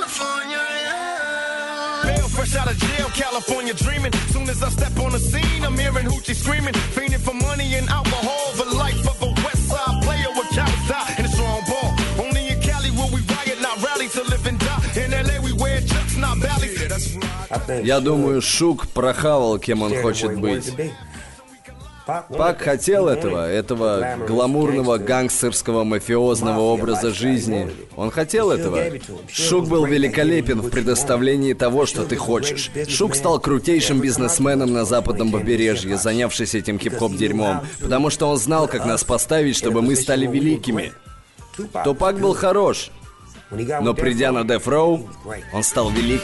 Fresh out of jail, California dreaming. Soon as I step on the scene, I'm hearing hoochie screaming. Fiending for money and alcohol, the life of a West Side player with cowards die and a strong ball. Only in Cali will we riot, not rally to live and die. In LA we wear chucks, not valleys. Я думаю, Шуг прохавал, кем он хочет быть. Пак хотел этого гламурного гангстерского мафиозного образа жизни. Он хотел этого. Шуг был великолепен в предоставлении того, что ты хочешь. Шуг стал крутейшим бизнесменом на западном побережье, занявшись этим хип-хоп дерьмом, потому что он знал, как нас поставить, чтобы мы стали великими. Тупак был хорош, но придя на Death Row, он стал велик.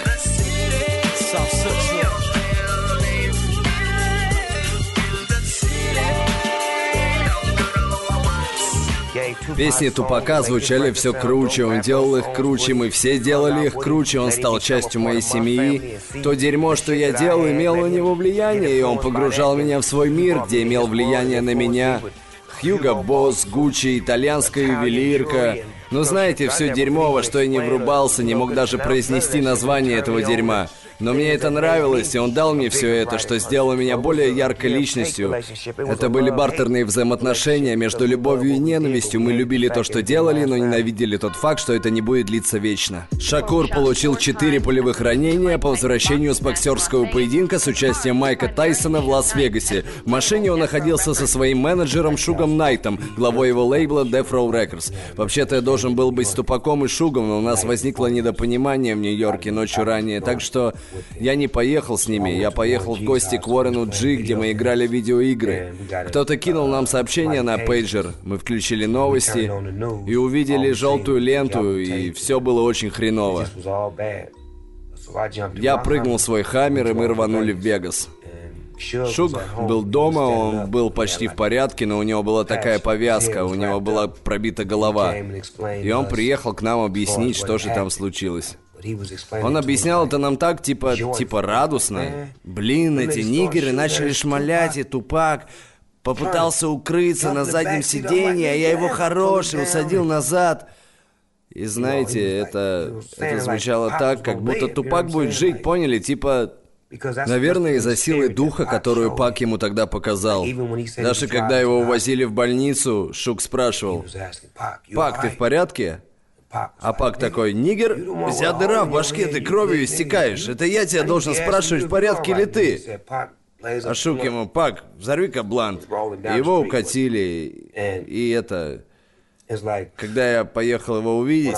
Песни Тупака звучали все круче, он делал их круче, мы все делали их круче, он стал частью моей семьи. То дерьмо, что я делал, имело на него влияние, и он погружал меня в свой мир, где имел влияние на меня. Хьюго Босс, Гуччи, итальянская ювелирка. Ну знаете, все дерьмо, во что я не врубался, не мог даже произнести название этого дерьма. Но мне это нравилось, и он дал мне все это, что сделало меня более яркой личностью. Это были бартерные взаимоотношения между любовью и ненавистью. Мы любили то, что делали, но ненавидели тот факт, что это не будет длиться вечно. Шакур получил 4 пулевых ранения по возвращению с боксерского поединка с участием Майка Тайсона в Лас-Вегасе. В машине он находился со своим менеджером Шугом Найтом, главой его лейбла Death Row Records. Вообще-то я должен был быть с Тупаком и Шугом, но у нас возникло недопонимание в Нью-Йорке ночью ранее, так что я не поехал с ними, я поехал в гости к Уоррену Джи, где мы играли в видеоигры. Кто-то кинул нам сообщение на пейджер, мы включили новости и увидели желтую ленту, и все было очень хреново. Я прыгнул в свой Хаммер, и мы рванули в Вегас. Шуг был дома, он был почти в порядке, но у него была такая повязка, у него была пробита голова. И он приехал к нам объяснить, что же там случилось. Он объяснял это нам так, типа радостно. Блин, эти нигеры начали шмалять, и Тупак попытался укрыться на заднем сиденье, а я его хороший усадил назад. И знаете, это звучало так, как будто Тупак будет жить, поняли? Типа, наверное, из-за силы духа, которую Пак ему тогда показал. Даже когда его увозили в больницу, Шуг спрашивал: «Пак, ты в порядке?» А Пак такой: «Нигер, у тебя дыра в башке, ты кровью истекаешь. Это я тебя должен спрашивать, в порядке ли ты?» А Шуг ему: «Пак, взорви-ка блант». Его укатили, и это... Когда я поехал его увидеть,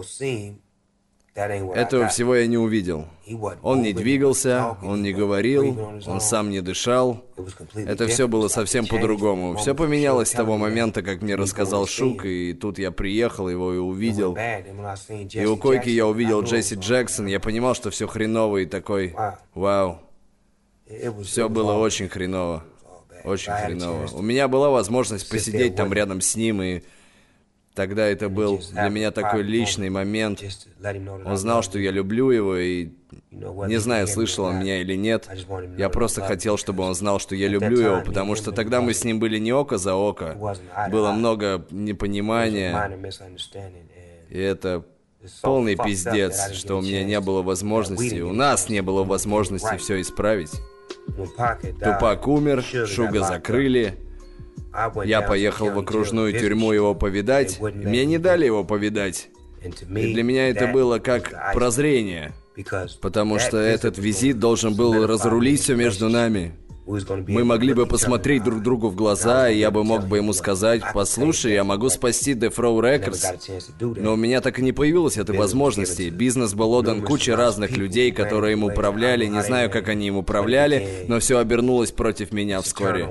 этого всего я не увидел. Он не двигался, он не говорил, он сам не дышал. Это все было совсем по-другому. Все поменялось с того момента, как мне рассказал Шуг, и тут я приехал, его и увидел. И у койки я увидел Джесси Джексон, я понимал, что все хреново, и такой: вау. Все было очень хреново. Очень хреново. У меня была возможность посидеть там рядом с ним, и... Тогда это был для меня такой личный момент. Он знал, что я люблю его, и не знаю, слышал он меня или нет. Я просто хотел, чтобы он знал, что я люблю его, потому что тогда мы с ним были не око за око. Было много непонимания, и это полный пиздец, что у меня не было возможности, у нас не было возможности все исправить. Тупак умер, Шуга закрыли. Я поехал в окружную тюрьму его повидать. Мне не дали его повидать. И для меня это было как прозрение. Потому что этот визит должен был разрулить все между нами. Мы могли бы посмотреть друг другу в глаза, и я бы мог бы ему сказать: послушай, я могу спасти Death Row Records. Но у меня так и не появилось этой возможности. Бизнес был отдан куче разных людей, которые им управляли. Не знаю, как они им управляли, но все обернулось против меня вскоре.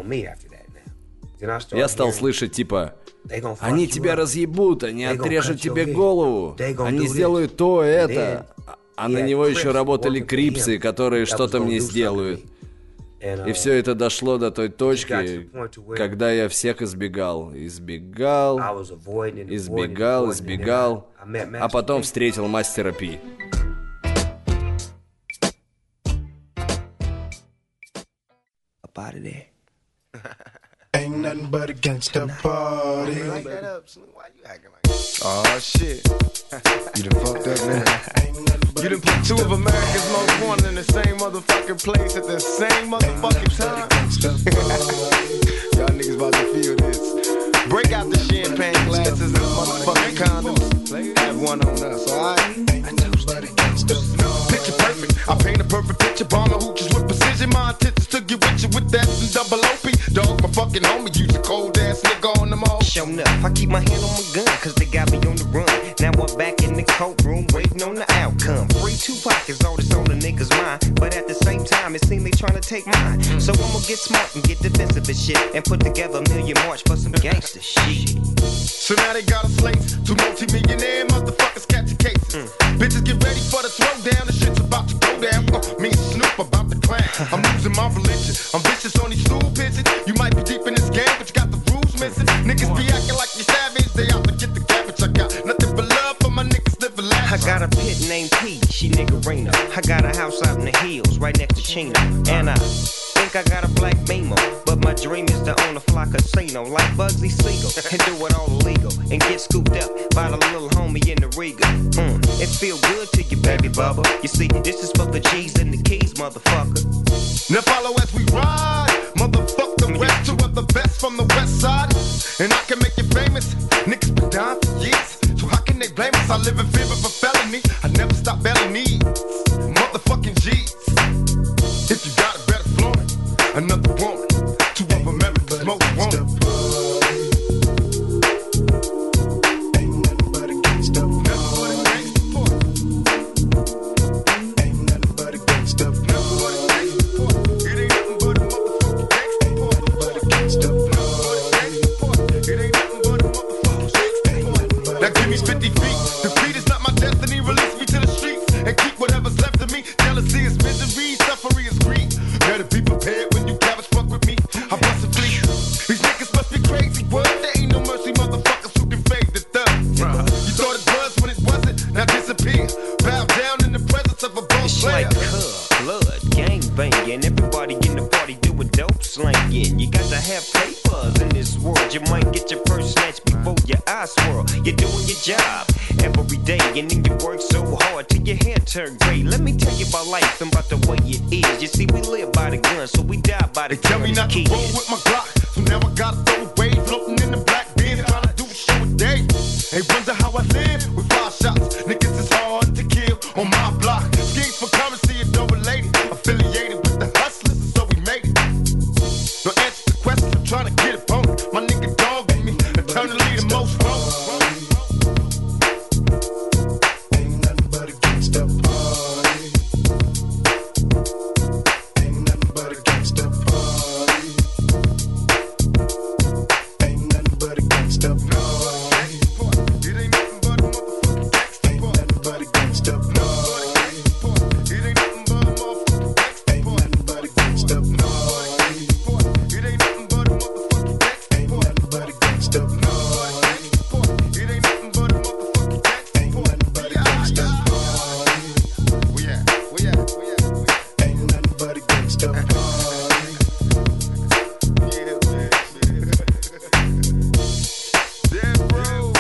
Я стал слышать типа: они тебя разъебут, они отрежут тебе голову, они сделают то, это. А на него еще работали крипсы, которые что-то мне сделают. И все это дошло до той точки, когда я всех избегал, а потом встретил мастера Пи. Ain't nothing but a gangsta party. Oh shit. You done fucked up, man. You done put two of America's most wanted in the same motherfucking place at the same motherfucking time. Y'all niggas about to feel this. Break out the champagne glasses and motherfucking condoms. Have one on us, alright? Picture perfect. I paint a perfect picture. Bomber hooches with precision. My intentions to get with you with that and double OP. Dog, my fucking homie, use a cold ass nigga on them all. Showing up, I keep my hand on my gun, cause they got me on the run. Now I'm back in the courtroom, waiting on the outcome. Free Tupac is all that's on the niggas' mind, but at the same time, it seems they tryna take mine. So I'm gonna get smart and get defensive and shit, and put together a million march for some gangster shit. So now they got a slate, two multi-millionaire motherfuckers catching cases. Bitches get ready for the throwdown, the shit's about to go down. Me and Snoop about to clown. I'm losing my religion, I'm vicious on these stool pigeons. You might be deep in this game, but you got the rules missing. Niggas be acting like you savage, they out to get the cabbage. I got nothing but love for my niggas living lavish. I got a pit named P, she niggerina. I got a house out in the hills, right next to Chino. And I think I got a black Beamer, but my dream is to own a fly casino like Bugsy Siegel and do it all illegal and get scooped up by the little homie in the Riga. It feel good to you, baby bubba. You see, this is for the G's and the keys, motherfucker. Now follow as we ride, motherfuck the rest, two of the best from the west side. And I can make you famous, niggas been down for years. So how can they blame us? I live in fear of a felony, I never stop belly needs, motherfucking G's. If you got it, better flaunt it. Another woman, two of America's most wanted. Life and about the way it is. You see, we live by the gun, so we die by the gun. They tell me not to roll with my Glock, so now I gotta throw away. Floating in the black bin, trying to do a show a day. They wonder how I live with 5 shots. Niggas is hard to kill on my block. Schemes for currency and double lady. Affiliated with the hustlers, so we made it. No answer to questions, I'm trying to get it on. My nigga dog in me, eternally the most wrong. Ain't nothing but a gangsta party. Ain't nothing but a gangsta party. Ain't nothing but a gangsta party. It ain't nothing but a motherfucking gangsta Ain't nothing but a gangsta party. It ain't nothing but a motherfucking gangsta Ain't nothing but a gangsta party. It ain't nothing but a motherfucking gangsta Ain't nothing but a gangsta party. It ain't nothing but a motherfucking gangsta Ain't nothing but a gangsta party. Where at? Where at? Where at? Ain't nothing but a gangsta party. Yeah, man. Yeah, bro.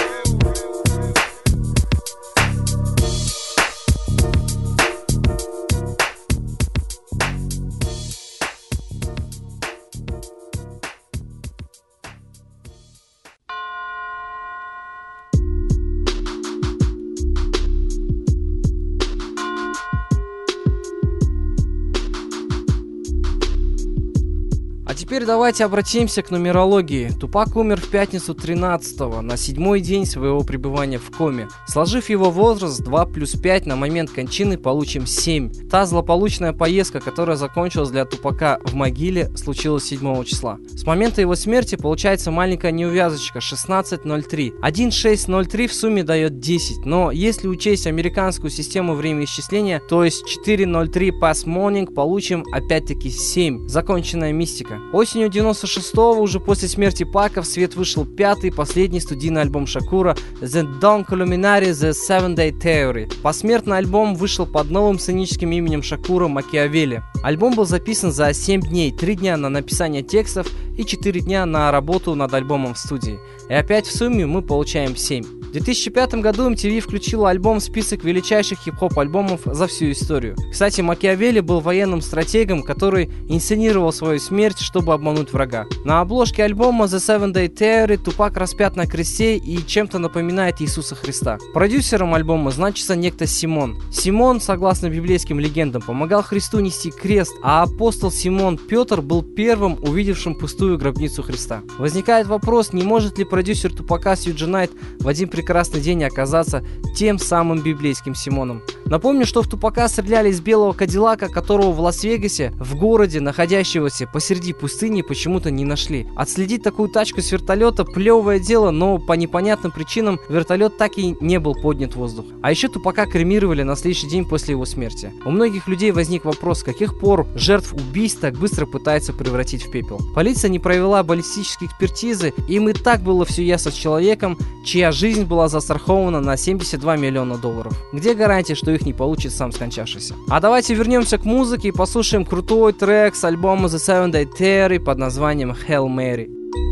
А теперь давайте обратимся к нумерологии. Тупак умер в пятницу 13-го, на 7-й день своего пребывания в коме. Сложив его возраст 2 плюс 5, на момент кончины получим 7. Та злополучная поездка, которая закончилась для Тупака в могиле, случилась 7 числа. С момента его смерти получается маленькая неувязочка 16.03. 1.6.03 в сумме дает 10, но если учесть американскую систему времяисчисления, то есть 4.03 past morning, получим опять-таки 7. Законченная мистика. Осенью 96-го, уже после смерти Пака, в свет вышел 5-й, последний студийный альбом Шакура The Dawn Columinary The 7-Day Theory. Посмертно альбом вышел под новым сценическим именем Шакура Макиавелли. Альбом был записан за 7 дней, 3 дня на написание текстов и 4 дня на работу над альбомом в студии. И опять в сумме мы получаем 7. В 2005 году MTV включила альбом в список величайших хип-хоп альбомов за всю историю. Кстати, Макиавелли был военным стратегом, который инсценировал свою смерть, чтобы обмануть врага. На обложке альбома The 7-Day Theory Тупак распят на кресте и чем-то напоминает Иисуса Христа. Продюсером альбома значится некто Симон. Симон, согласно библейским легендам, помогал Христу нести крест, а апостол Симон Петр был первым, увидевшим пустую гробницу Христа. Возникает вопрос, не может ли продюсер Тупака Сьюджи Найт в один прекрасный день оказаться тем самым библейским Симоном. Напомню, что в Тупака стреляли из белого Кадиллака, которого в Лас-Вегасе, в городе, находящегося посреди пустыни, почему-то не нашли. Отследить такую тачку с вертолета – плевое дело, но по непонятным причинам вертолет так и не был поднят в воздух. А еще Тупака кремировали на следующий день после его смерти. У многих людей возник вопрос, с каких пор жертв убийств так быстро пытаются превратить в пепел. Полиция не провела баллистические экспертизы, им и так было все ясно с человеком, чья жизнь была застрахована на $72 миллиона. Где гарантия, что их не получит сам скончавшийся? А давайте вернемся к музыке и послушаем крутой трек с альбома The 7-Day Theory под названием Hail Mary.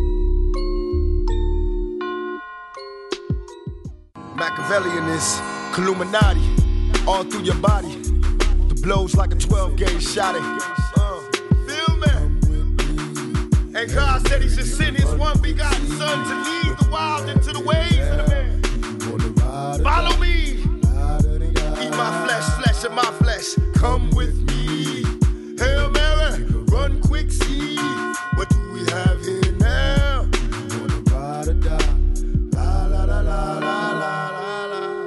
Machiavellian is Illuminati all through your body. The blows like a 12-gauge shot. Feel me? And God said He should send His one begotten Son to lead the wild into the ways of the man. Follow me. Eat my flesh, flesh of my flesh. Come with me. Hail Mary, run quick, see. What do we have here now? Gonna ride or die. La la la la la la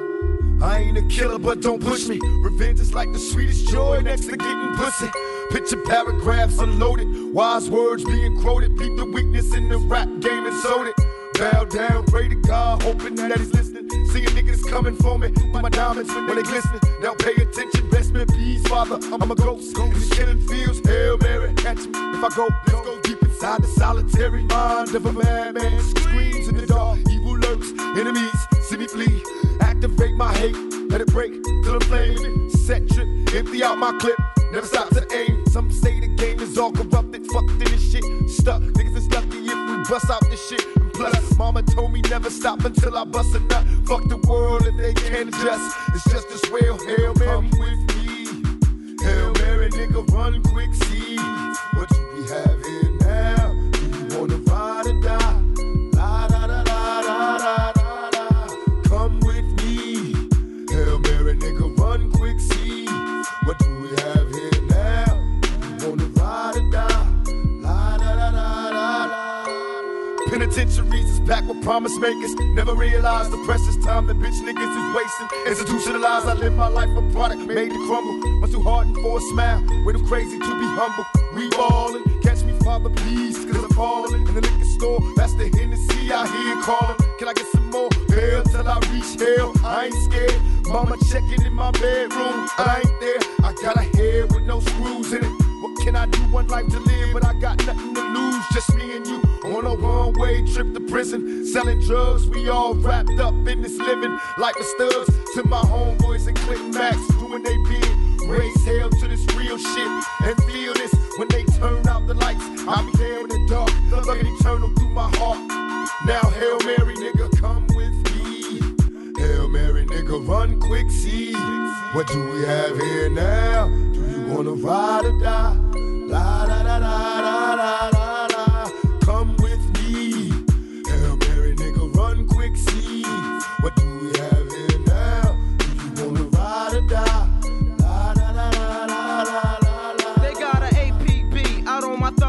la. I ain't a killer, but don't push me. Revenge is like the sweetest joy next to getting pussy. Picture paragraphs unloaded, wise words being quoted. Beat the weakness in the rap game and sold it. Bow down, pray to God, hoping that He's listening. Seeing niggas coming for me, my diamonds when they glistening. Now pay attention, rest in peace, Father. I'm a ghost in these killing fields. Hail Mary, catch me if I go. Let's go deep inside the solitary mind of a madman. Screams in the dark, evil lurks, enemies see me flee. Activate my hate, let it break till I'm flaming. Set trip, empty out my clip, never stop to aim. Some say the game is all corrupted, fucked in this shit. Stuck, niggas is lucky if we bust out this shit. Plus, mama told me never stop until I bust a nut. Fuck the world if they can't adjust. It's just as well. Hail Mary, come with me. Hail Mary, nigga, run quick, see. What do we have here now? Do you wanna ride or die? La da da da da da da da. Come with me. Hail Mary, nigga, run quick, see. What do we have here now? Do you wanna ride or die? La da da da da da. Penitentiaries is packed with promise makers. Never realized the precious time that bitch niggas is wasting. Institutionalized, I live my life a product made to crumble. Much too hardened for a smile, way too crazy to be humble. We ballin', catch me, Father, please, cause I'm fallin'. In the liquor store, that's the Hennessy I hear callin'. Can I get some more? Hell till I reach hell, I ain't scared. Mama checking in my bedroom, I ain't there. I got a head with no screws in it. What can I do? One life to live, but I got nothing to lose. Just me and you on a one-way trip to prison. Selling drugs, we all wrapped up in this living. Like the studs to my homeboys and Clinton Max, doing they bid. Raise hell to this real shit and feel this when they turn out the lights. I'll be there in the dark, looking eternal through my heart. Now Hail Mary, nigga, come with me. Hail Mary, nigga, run quick, see. What do we have here now? Do you wanna ride or die? La da da da da da da da. Come with me. Hail Mary, nigga, run quick, see. What do we have here now? Do you wanna ride or die? La da da da da da da. They got an APB out on my thug family.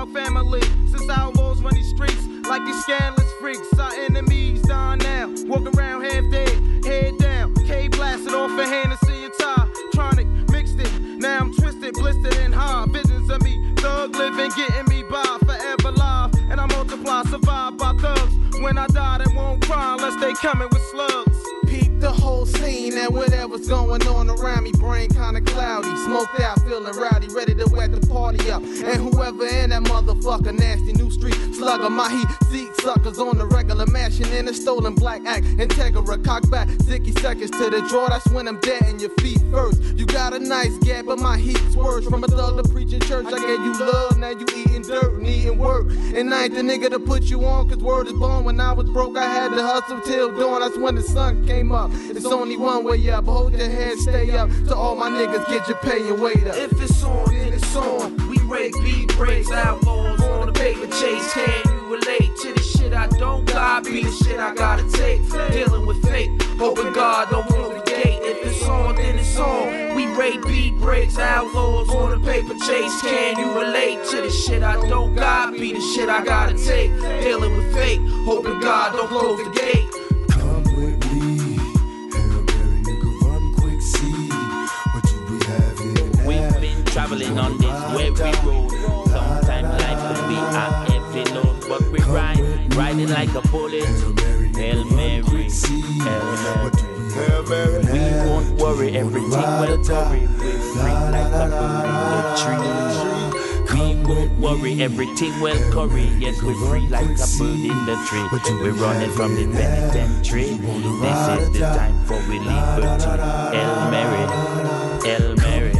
carefully. Since outlaws run these streets like these scandalous freaks, our enemies dying now. Walk around half dead, head down. K blasted off a Hennessy and tie. Tronic mixed it. Now I'm twisted, blistered, and hard. Visions of me, thug living, getting me by. Forever live, and I multiply, survive by thugs. When I die, they won't cry unless they coming with slugs. Peep the whole scene and whatever's going on around me. Brain kinda cloudy, smoked out, feeling rowdy, ready to wet the party up. And whoever in that motherfucker, nasty new street slugger, my heat seat suckers on the regular, mashing in a stolen black act. Integra, cock back, 60 seconds to the draw. That's when I'm dead in your feet first. You got a nice gap, but my heat's worse. From a thug to preaching church, I gave you love, now you eating dirt and eating work. And I ain't the nigga to put you on, cause word is born. When I was broke, I had to hustle till dawn. That's when the sun came up. It's only one way up. Hold your head, stay up. To all my niggas, get your pay and wait up. If it's on, then it's on. We break beat breaks, outlaws on the paper chase. Can you relate to the shit I don't got? Be the shit I gotta take. Dealing with fate, hoping God don't close the gate. If it's on, then it's on. We rate beat breaks, outlaws on the paper chase. Can you relate to the shit I don't got? Be the shit I gotta take. Dealing with fate, hoping God don't close the gate. Come with me, Hail Mary, nigga, run quick, see what do we have here. We've been traveling on this weary road. Sometimes life can be a heavy load, but we riding like a bullet. Hail Mary, Hail Mary. We won't worry, everything will curry. We're free like a bird in the tree. We won't worry, everything will curry. Yes, we're free like a bird in the tree. We're running from the penitentiary. This is the time for we liberty. Hail Mary, Hail Mary.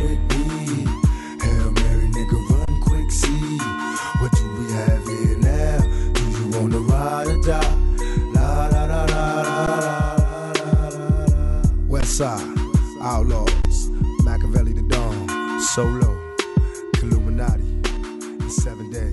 Hail Mary, nigga, run quick, see what do we have here now? Do you wanna ride or die? La la la la la la. West Side, Outlaws, Machiavelli the Dawn, Solo, Illuminati, in 7 days.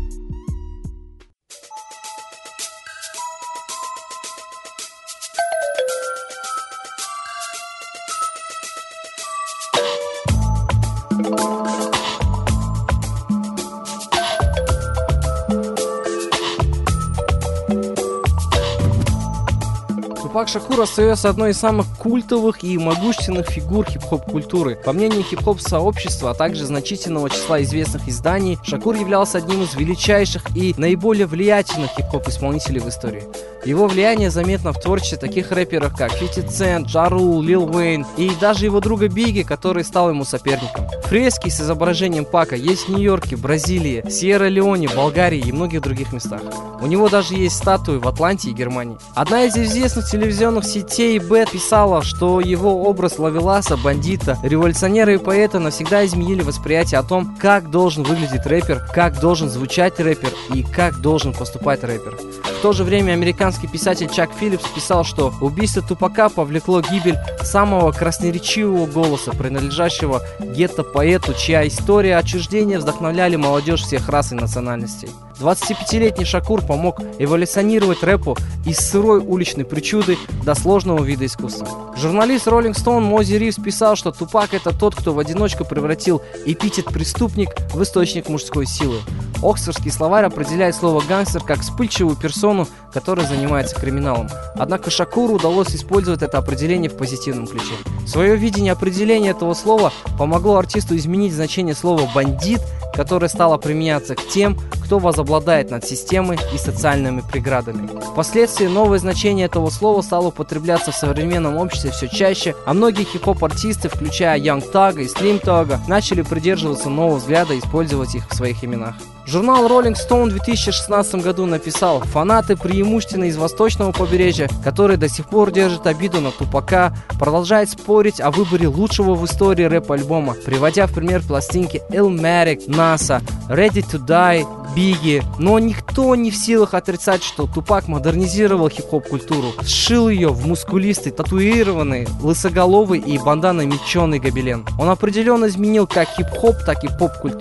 Тупак Шакур остается одной из самых культовых и могущественных фигур хип-хоп-культуры. По мнению хип-хоп-сообщества, а также значительного числа известных изданий, Шакур являлся одним из величайших и наиболее влиятельных хип-хоп-исполнителей в истории. Его влияние заметно в творчестве таких рэперов, как 50 Cent, Ja Rule, Lil Wayne и даже его друга Бигги, который стал ему соперником. Фрески с изображением Пака есть в Нью-Йорке, Бразилии, Сьерра-Леоне, Болгарии и многих других местах. У него даже есть статуи в Атланте и Германии. Одна из известных телевизионных сетей Бэт писала, что его образ ловеласа, бандита, революционера и поэта навсегда изменили восприятие о том, как должен выглядеть рэпер, как должен звучать рэпер и как должен поступать рэпер. В то же время американский писатель Чак Филлипс писал, что убийство Тупака повлекло гибель самого красноречивого голоса, принадлежащего гетто-поэту, чья история отчуждения вдохновляли молодежь всех рас и национальностей. 25-летний Шакур помог эволюционировать рэпу из сырой уличной причуды до сложного вида искусства. Журналист Rolling Stone Мози Ривз писал, что Тупак — это тот, кто в одиночку превратил эпитет «преступник» в источник мужской силы. Оксфордский словарь определяет слово «гангстер» как вспыльчивую персону, которая занимается криминалом. Однако Шакуру удалось использовать это определение в позитивном ключе. Свое видение определения этого слова помогло артисту изменить значение слова «бандит», которое стало применяться к тем, кто возобладает над системой и социальными преградами. Впоследствии новое значение этого слова стало употребляться в современном обществе все чаще, а многие хип-хоп-артисты, включая Young Thug и Slim Thug, начали придерживаться нового взгляда и использовать их в своих именах. Журнал Rolling Stone в 2016 году написал: фанаты преимущественно из восточного побережья, которые до сих пор держат обиду на Тупака, продолжают спорить о выборе лучшего в истории рэп-альбома, приводя в пример пластинки Illmatic, NASA, Ready to Die, Бигги. Но никто не в силах отрицать, что Тупак модернизировал хип-хоп-культуру, сшил ее в мускулистый, татуированный, лысоголовый и банданой меченый гобелен. Он определенно изменил как хип-хоп, так и поп-культуру.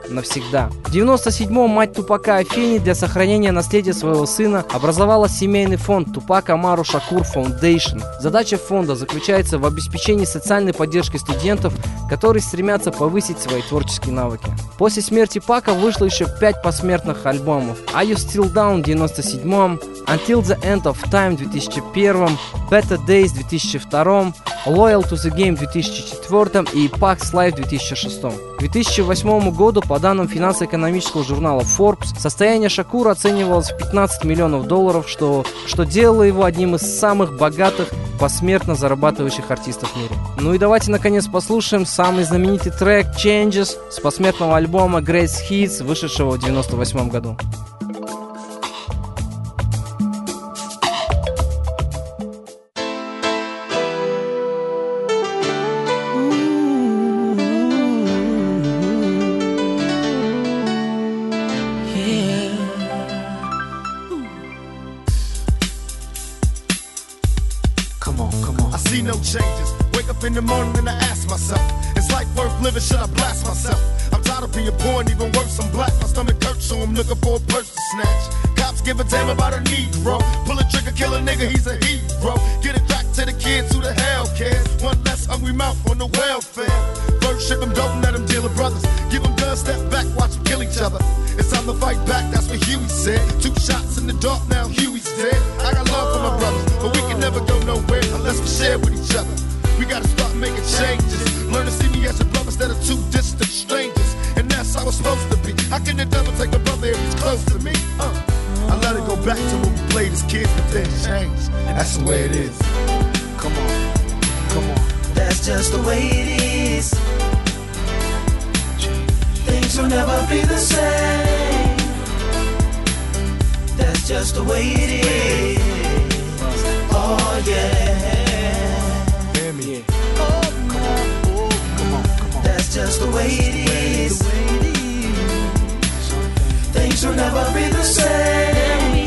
навсегда. В 1997-м мать Тупака Афени для сохранения наследия своего сына образовала семейный фонд Тупак Амару Шакур Foundation. Задача фонда заключается в обеспечении социальной поддержки студентов, которые стремятся повысить свои творческие навыки. После смерти Пака вышло еще 5 посмертных альбомов: Are You Still Down в 1997-м, Until the End of Time в 2001-м, Better Days в 2002-м, Loyal to the Game в 2004 и Pac's Life в 2006. К 2008 году, по данным финансово-экономического журнала Forbes, состояние Шакура оценивалось в $15 миллионов, что делало его одним из самых богатых посмертно зарабатывающих артистов в мире. Ну и давайте наконец послушаем самый знаменитый трек Changes с посмертного альбома Greatest Hits, вышедшего в 1998 году. In the morning and I ask myself, is life worth living? Should I blast myself? I'm tired of being poor and even worse, I'm black. My stomach hurts, so I'm looking for a purse to snatch. Cops give a damn about a Negro. Pull a trigger, kill a nigga, he's a hero. Get it back to the kids, who the hell cares? One less hungry mouth on the welfare. First ship them, don't let them deal with brothers. Give them guns, step back, watch them kill each other. It's time to fight back, that's what Huey said. 2 shots in the dark, now Huey's dead. I got love for my brothers, but we can never go nowhere unless we share with each other. We gotta start making changes. Learn to see me as a brother instead of 2 distant strangers. And that's how it's supposed to be. How can the devil take a brother if he's close to me? I let it go back to when we played as kids, but then changed. That's the way it is. Come on, come on. That's just the way it is. Things will never be the same. That's just the way it is. Oh yeah. That's just the way it is. Things will never be the same.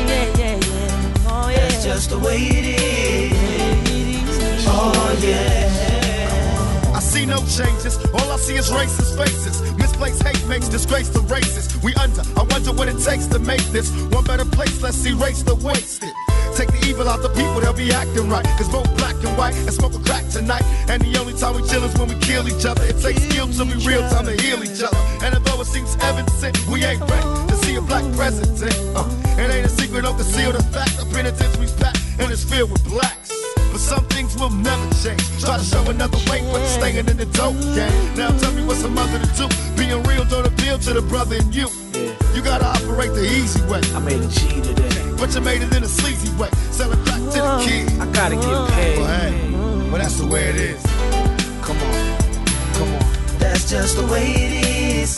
That's just the way it is. Oh yeah. I see no changes. All I see is racist faces. Misplaced hate makes disgrace to races. We under. I wonder what it takes to make this one better place. Let's erase the wasted. Take the evil out the people, they'll be acting right. Cause both black and white and smoke a crack tonight. And the only time we chill is when we kill each other. It takes skill to be real time to heal each other. And although it seems evident, we ain't ready to see a black president. It ain't a secret, don't conceal the fact. The penitentiary's packed and it's filled with blacks. But some things will never change. Try to show another way, but staying in the dope game. Now tell me what's a mother to do. Being real don't appeal to the brother in you. You gotta operate the easy way. I made a G today, but you made it in a sleazy way. Sell it back to the kids. I gotta get paid. Well, hey, well that's the way it is. Come on, come on. That's just the way it is.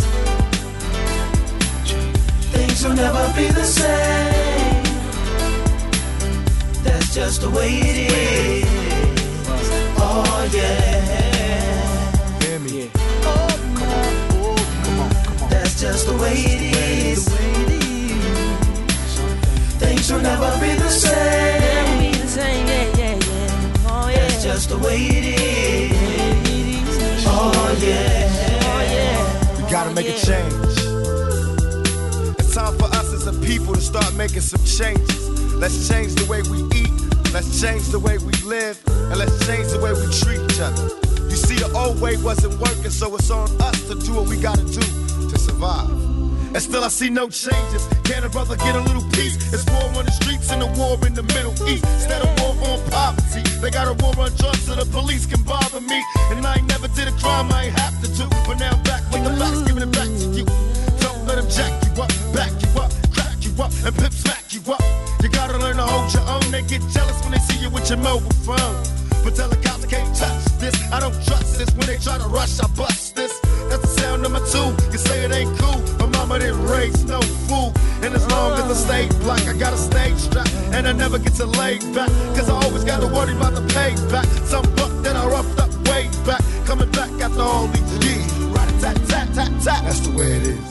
Things will never be the same. That's just the way it is. Oh yeah. Hear me. Oh, come on. Come on, come on. That's just the way it is. Things will never be the same. That's just the way it is. Oh yeah. We gotta make a change. It's time for us as a people to start making some changes. Let's change the way we eat. Let's change the way we live. And let's change the way we treat each other. You see, the old way wasn't working, so it's on us to do what we gotta do to survive. And still I see no changes. Can a brother get a little peace? It's war on the streets and a war in the Middle East. Instead of war on poverty, they got a war on drugs so the police can bother me. And I ain't never did a crime I ain't have to do. But now I'm back with the facts, giving it back to you. Don't let them jack you up, back you up, crack you up, and pimp smack you up. You gotta learn to hold your own. They get jealous when they see you with your mobile phone. But tell the cops I can't touch this. I don't trust this. When they try to rush, I bust this. That's the sound number 2. You say it ain't cool. My mama didn't raise no fool. And as long as I stay black, I got a stage strap. And I never get to lay back. Cause I always gotta worry about the payback. Some buck that I roughed up way back. Coming back after all these years. Rat-a-tat-tat-tat-tat. That's the way it is.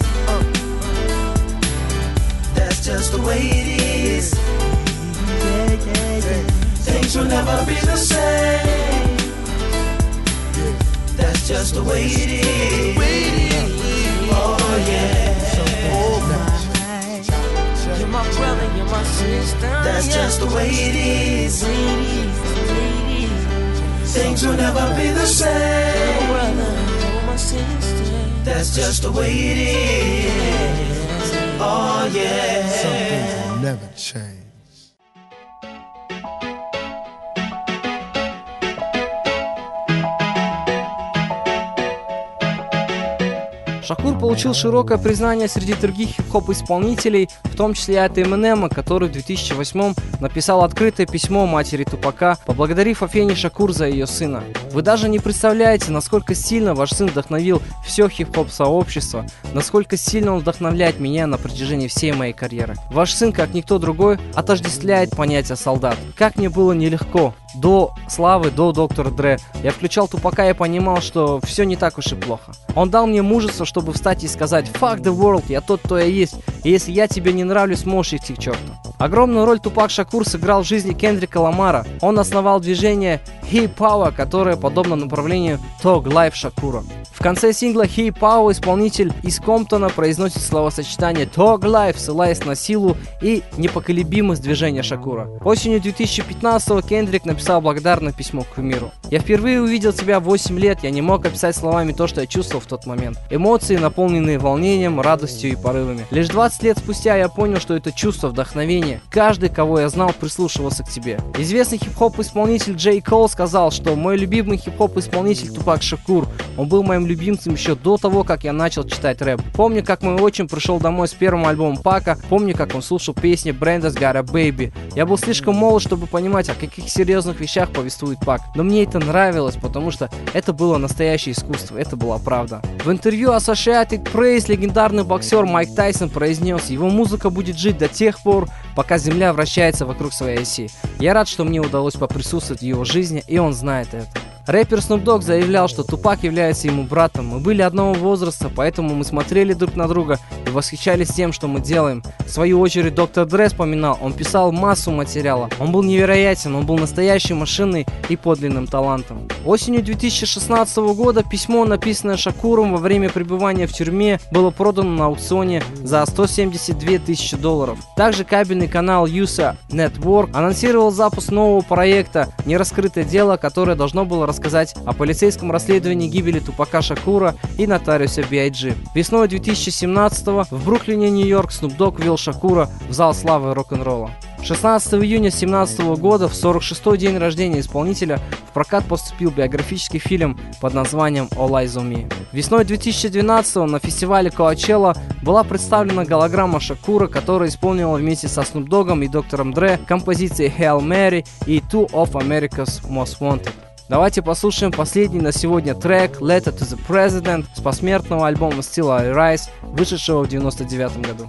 That's just the way it is. Things will never be the same. That's just the way it is. Oh yeah. You're my brother, you're my sister. That's just the way it is. Things will never be the same. Brother, you're my sister. That's just the way it is. Oh yeah. Some things will never change. Шакур получил широкое признание среди других хип-хоп-исполнителей, в том числе и от Эминема, который в 2008 написал открытое письмо матери Тупака, поблагодарив Афени Шакур за ее сына. Вы даже не представляете, насколько сильно ваш сын вдохновил все хип-хоп-сообщество, насколько сильно он вдохновляет меня на протяжении всей моей карьеры. Ваш сын, как никто другой, отождествляет понятие солдат. Как мне было нелегко. До славы, до доктора Дре. Я включал Тупака и понимал, что все не так уж и плохо. Он дал мне мужество, чтобы встать и сказать «Fuck the world, я тот, кто я есть, и если я тебе не нравлюсь, можешь идти к черту». Огромную роль Тупак Шакур сыграл в жизни Кендрика Ламара. Он основал движение Hip Power, которое подобно направлению Thug Life Шакура. В конце сингла Hip Power исполнитель из Комптона произносит словосочетание Thug Life, ссылаясь на силу и непоколебимость движения Шакура. Осенью 2015-го Кендрик написал благодарное письмо к миру. «Я впервые увидел тебя в 8 лет, я не мог описать словами то, что я чувствовал в тот момент. Эмоции, наполненные волнением, радостью и порывами. Лишь 20 лет спустя я понял, что это чувство вдохновения. Каждый, кого я знал, прислушивался к тебе». Известный хип-хоп-исполнитель Джей Кол сказал, что мой любимый хип-хоп-исполнитель Тупак Шакур, он был моим любимцем еще до того, как я начал читать рэп. Помню, как мой отчим пришел домой с первым альбомом Пака, помню, как он слушал песни Бrenda's Got a Baby. Я был слишком молод, чтобы понимать, о каких серьезных вещах повествует Пак, но мне это нравилось, потому что это было настоящее искусство, это была правда. В интервью Associated Press легендарный боксер Майк Тайсон произнес: его музыка будет жить до тех пор, пока Земля вращается вокруг своей оси. Я рад, что мне удалось поприсутствовать в его жизни, и он знает это. Рэпер Snoop Dogg заявлял, что Тупак является ему братом. Мы были одного возраста, поэтому мы смотрели друг на друга и восхищались тем, что мы делаем. В свою очередь доктор Дре вспоминал, он писал массу материала. Он был невероятен, он был настоящей машиной и подлинным талантом. Осенью 2016 года письмо, написанное Шакуром во время пребывания в тюрьме, было продано на аукционе за $172 тысячи. Также кабельный канал USA Network анонсировал запуск нового проекта «Нераскрытое дело», которое должно было рассказать о полицейском расследовании гибели Тупака Шакура и нотариуса B.I.G. Весной 2017-го в Бруклине, Нью-Йорк, Snoop Dogg ввел Шакура в зал славы рок-н-ролла. 16 июня 2017 года, в 46-й день рождения исполнителя, в прокат поступил биографический фильм под названием All Eyes on Me. Весной 2012-го на фестивале Coachella была представлена голограмма Шакура, которая исполнила вместе со Snoop Dogg'ом и доктором Дре композиции Hail Mary и Two of America's Most Wanted. Давайте послушаем последний на сегодня трек Letter to the President с посмертного альбома Still I Rise, вышедшего в 1999 году.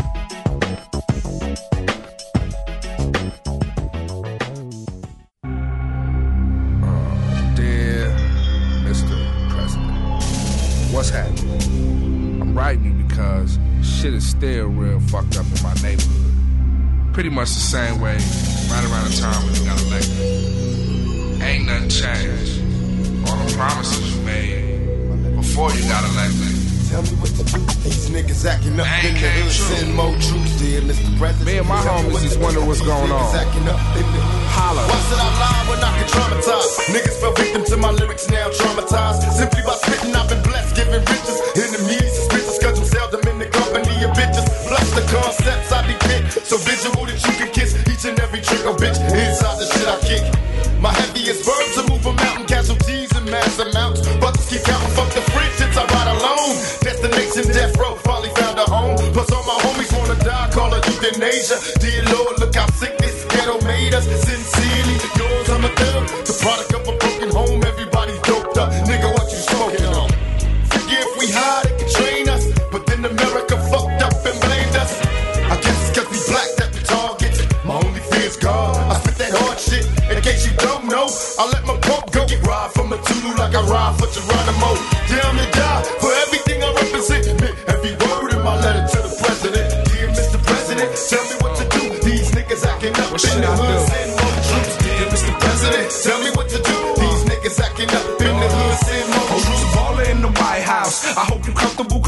Dear Mr. President, what's happening? I'm writing you because shit is still real fucked up in my neighborhood. Pretty much the same way right around the time when you got elected. Ain't nothing changed. All the promises you made before you got elected. Tell me what to do. These niggas acting up in the hood. Send more troops, dear Mr. President. Me and my homies just wonder what's going on. Holla. Why should I lie when I can traumatize? Niggas fell victim to my lyrics, now traumatized. Simply by spitting, I've been blessed, giving riches. Enemies, suspicious, cause I'm seldom in the company of bitches. Plus the concepts I depict, so visual that you can kiss each and every trick, oh bitch. Inside the shit I kick. My heaviest verbs will move a mountain, casualties in mass amounts. Brothers keep counting, fuck the friendships, I ride alone. Destination death row, finally found a home. Plus all my homies wanna die, call it euthanasia. Dear Lord, look how sick this ghetto made us. Sincerely, yours, I'm a thug. The product of a broken home, everybody's doped up. Nigga, what you smoking on? Forget we hide, it can train us. But then America fucked up and blamed us. I guess it's cause we black that we target. My only fear is God. I spit that hard shit. In case you don't know, I let my pump go. Get ride from a Tulu like I ride for Geronimo. Down to die for everything I represent. Every word in my letter to the president. Dear Mr. President, tell me what to do. These niggas acting up in the hood. Send more troops. Dear Mr. President, tell me what to do. These niggas acting up in the hood. Send more troops. Baller in the White House. I hope you comfortable, cause yo, I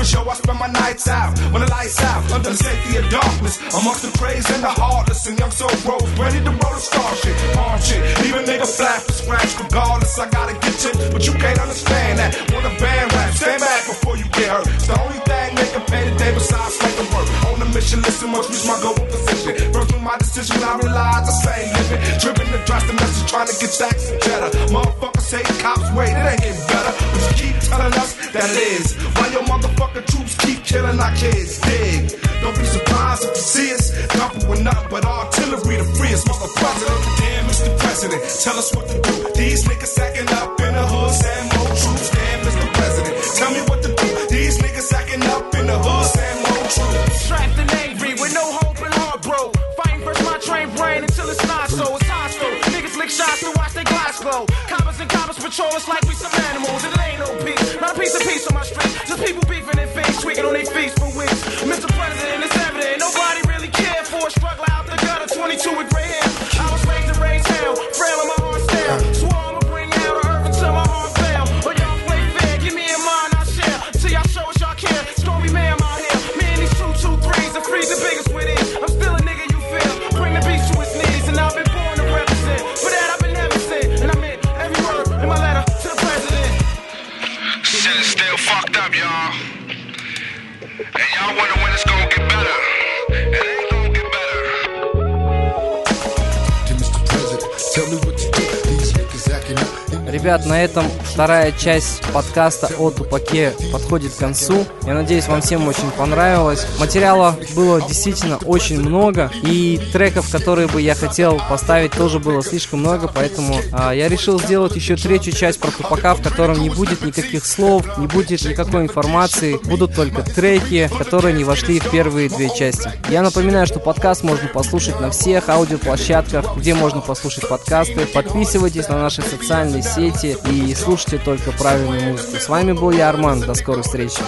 spend my nights out when the lights out under the safety of darkness. Amongst the crazy and the heartless and young soul bros ready to roll the star shit, arm shit. Even nigga flap for scratch regardless. I gotta get you, but you can't understand that. Want a band rap? Stand back before you get hurt. It's the only thing they can pay today besides making work. On a mission, listen, must reach my goal position. First with my decision, I realized I say living. Driven to dress the message, trying to get stacks and cheddar. Motherfuckers say cops wait, it ain't getting better. But you keep telling us that it is. Why your motherfucking troops keep killing our kids? Dig. Don't be surprised if you see us. Couple with nothing but artillery to free us. Mr. President, damn Mr. President, tell us what to do. These niggas sacking up in the hood, send more troops. Damn Mr. President, tell me what to do. These niggas sacking up in the hood, send more troops. Strapped and angry with no hope and heart, bro. Fighting first my train brain until it's not so. It's hostile. Niggas lick shots to watch their glass glow. Coppers and coppers patrol us like we some animals. And it ain't no peace. Not a piece of peace on my street. Just people beefing and face tweaking on their feet for weeks. Mr. President, it's evident. Nobody really cared for a struggle out the gutter. 22 with gray hair. I was raised to raise hell. Frail in my heart style. Swore I'ma bring hell to earth until my heart fail. But y'all play fair. Give me a mind I share. Till y'all show us y'all care. Stormy man out here. Me and these 223s and freeze the biggest with it. I'm still a nigga you feel. Bring the beast to his knees. And I've been born to represent. For that I've been heaven sent. And I meant every word in my letter to the president. Shit is still fucked up, y'all. And y'all wonder when it's gonna get better. It ain't gonna get better. Mr. President, tell me what to do. These niggas acting up. Ребят, на этом вторая часть подкаста о Тупаке подходит к концу. Я надеюсь, вам всем очень понравилось. Материала было действительно очень много, и треков, которые бы я хотел поставить, тоже было слишком много, поэтому я решил сделать еще третью часть про Тупака, в котором не будет никаких слов, не будет никакой информации, будут только треки, которые не вошли в первые две части. Я напоминаю, что подкаст можно послушать на всех аудиоплощадках, где можно послушать подкасты. Подписывайтесь на наши социальные сети и слушайте только правильную музыку. С вами был я, Арман. До скорой встречи.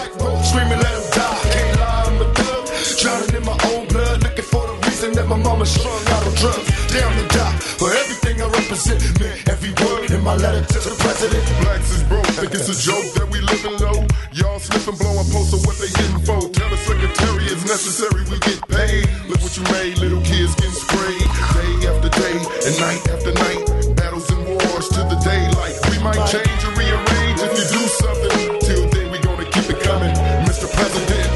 Might change or rearrange if you do something. Till then, we gonna keep it coming, Mr. President.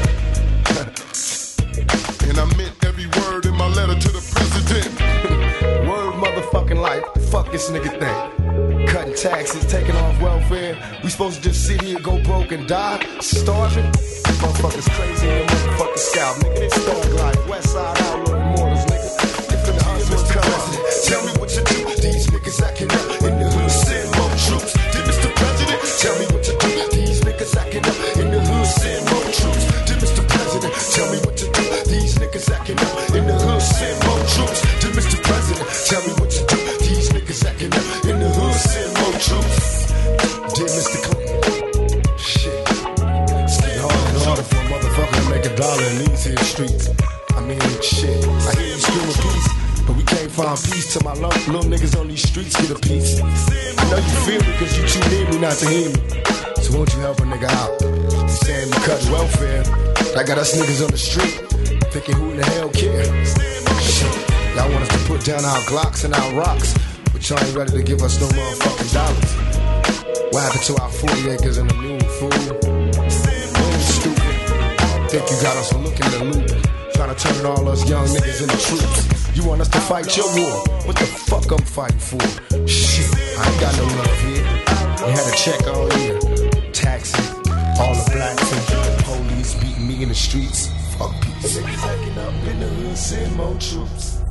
And I meant every word in my letter to the president. Word motherfucking life. Fuck this nigga thing. Cutting taxes, taking off welfare. We supposed to just sit here, go broke and die? Starving? Motherfuckers crazy in the motherfucking scalp. Nigga, this thug life. West side outlaw immortals, nigga. If the husband's coming, tell me what you do. These niggas acting up in the hood, send more troops. Did Mr. President tell me what to do? These niggas acting up in the hood, send more troops. Did Mr. President tell me what to do? These niggas acting up in the hood, send more troops. Did Mr. President tell me what to do? These niggas acting up in the hood, send more troops. Did Mr. Clinton? Shit. It's getting harder and harder for a motherfucker to make a dollar in these here streets. I mean, shit. I hear you screaming peace, but we can't find peace till my little niggas on these streets get a piece. I know you feel me cause you too near me not to hear me. So won't you help a nigga out? You saying we cut welfare, that got us niggas on the street thinking who in the hell care? Shit, y'all want us to put down our Glocks and our rocks, but y'all ain't ready to give us no motherfucking dollars. What happened to our 40 acres and the moon, fool? Stupid. Think you got us looking in the loop, trying to turn all us young niggas into troops. You want us to fight your war? What the fuck I'm fighting for? Shit, I ain't got no love here. We had to check all year. Taxes, all the blacks and police beating me in the streets. Fuck peace. Niggas acting up in the hood, send more troops.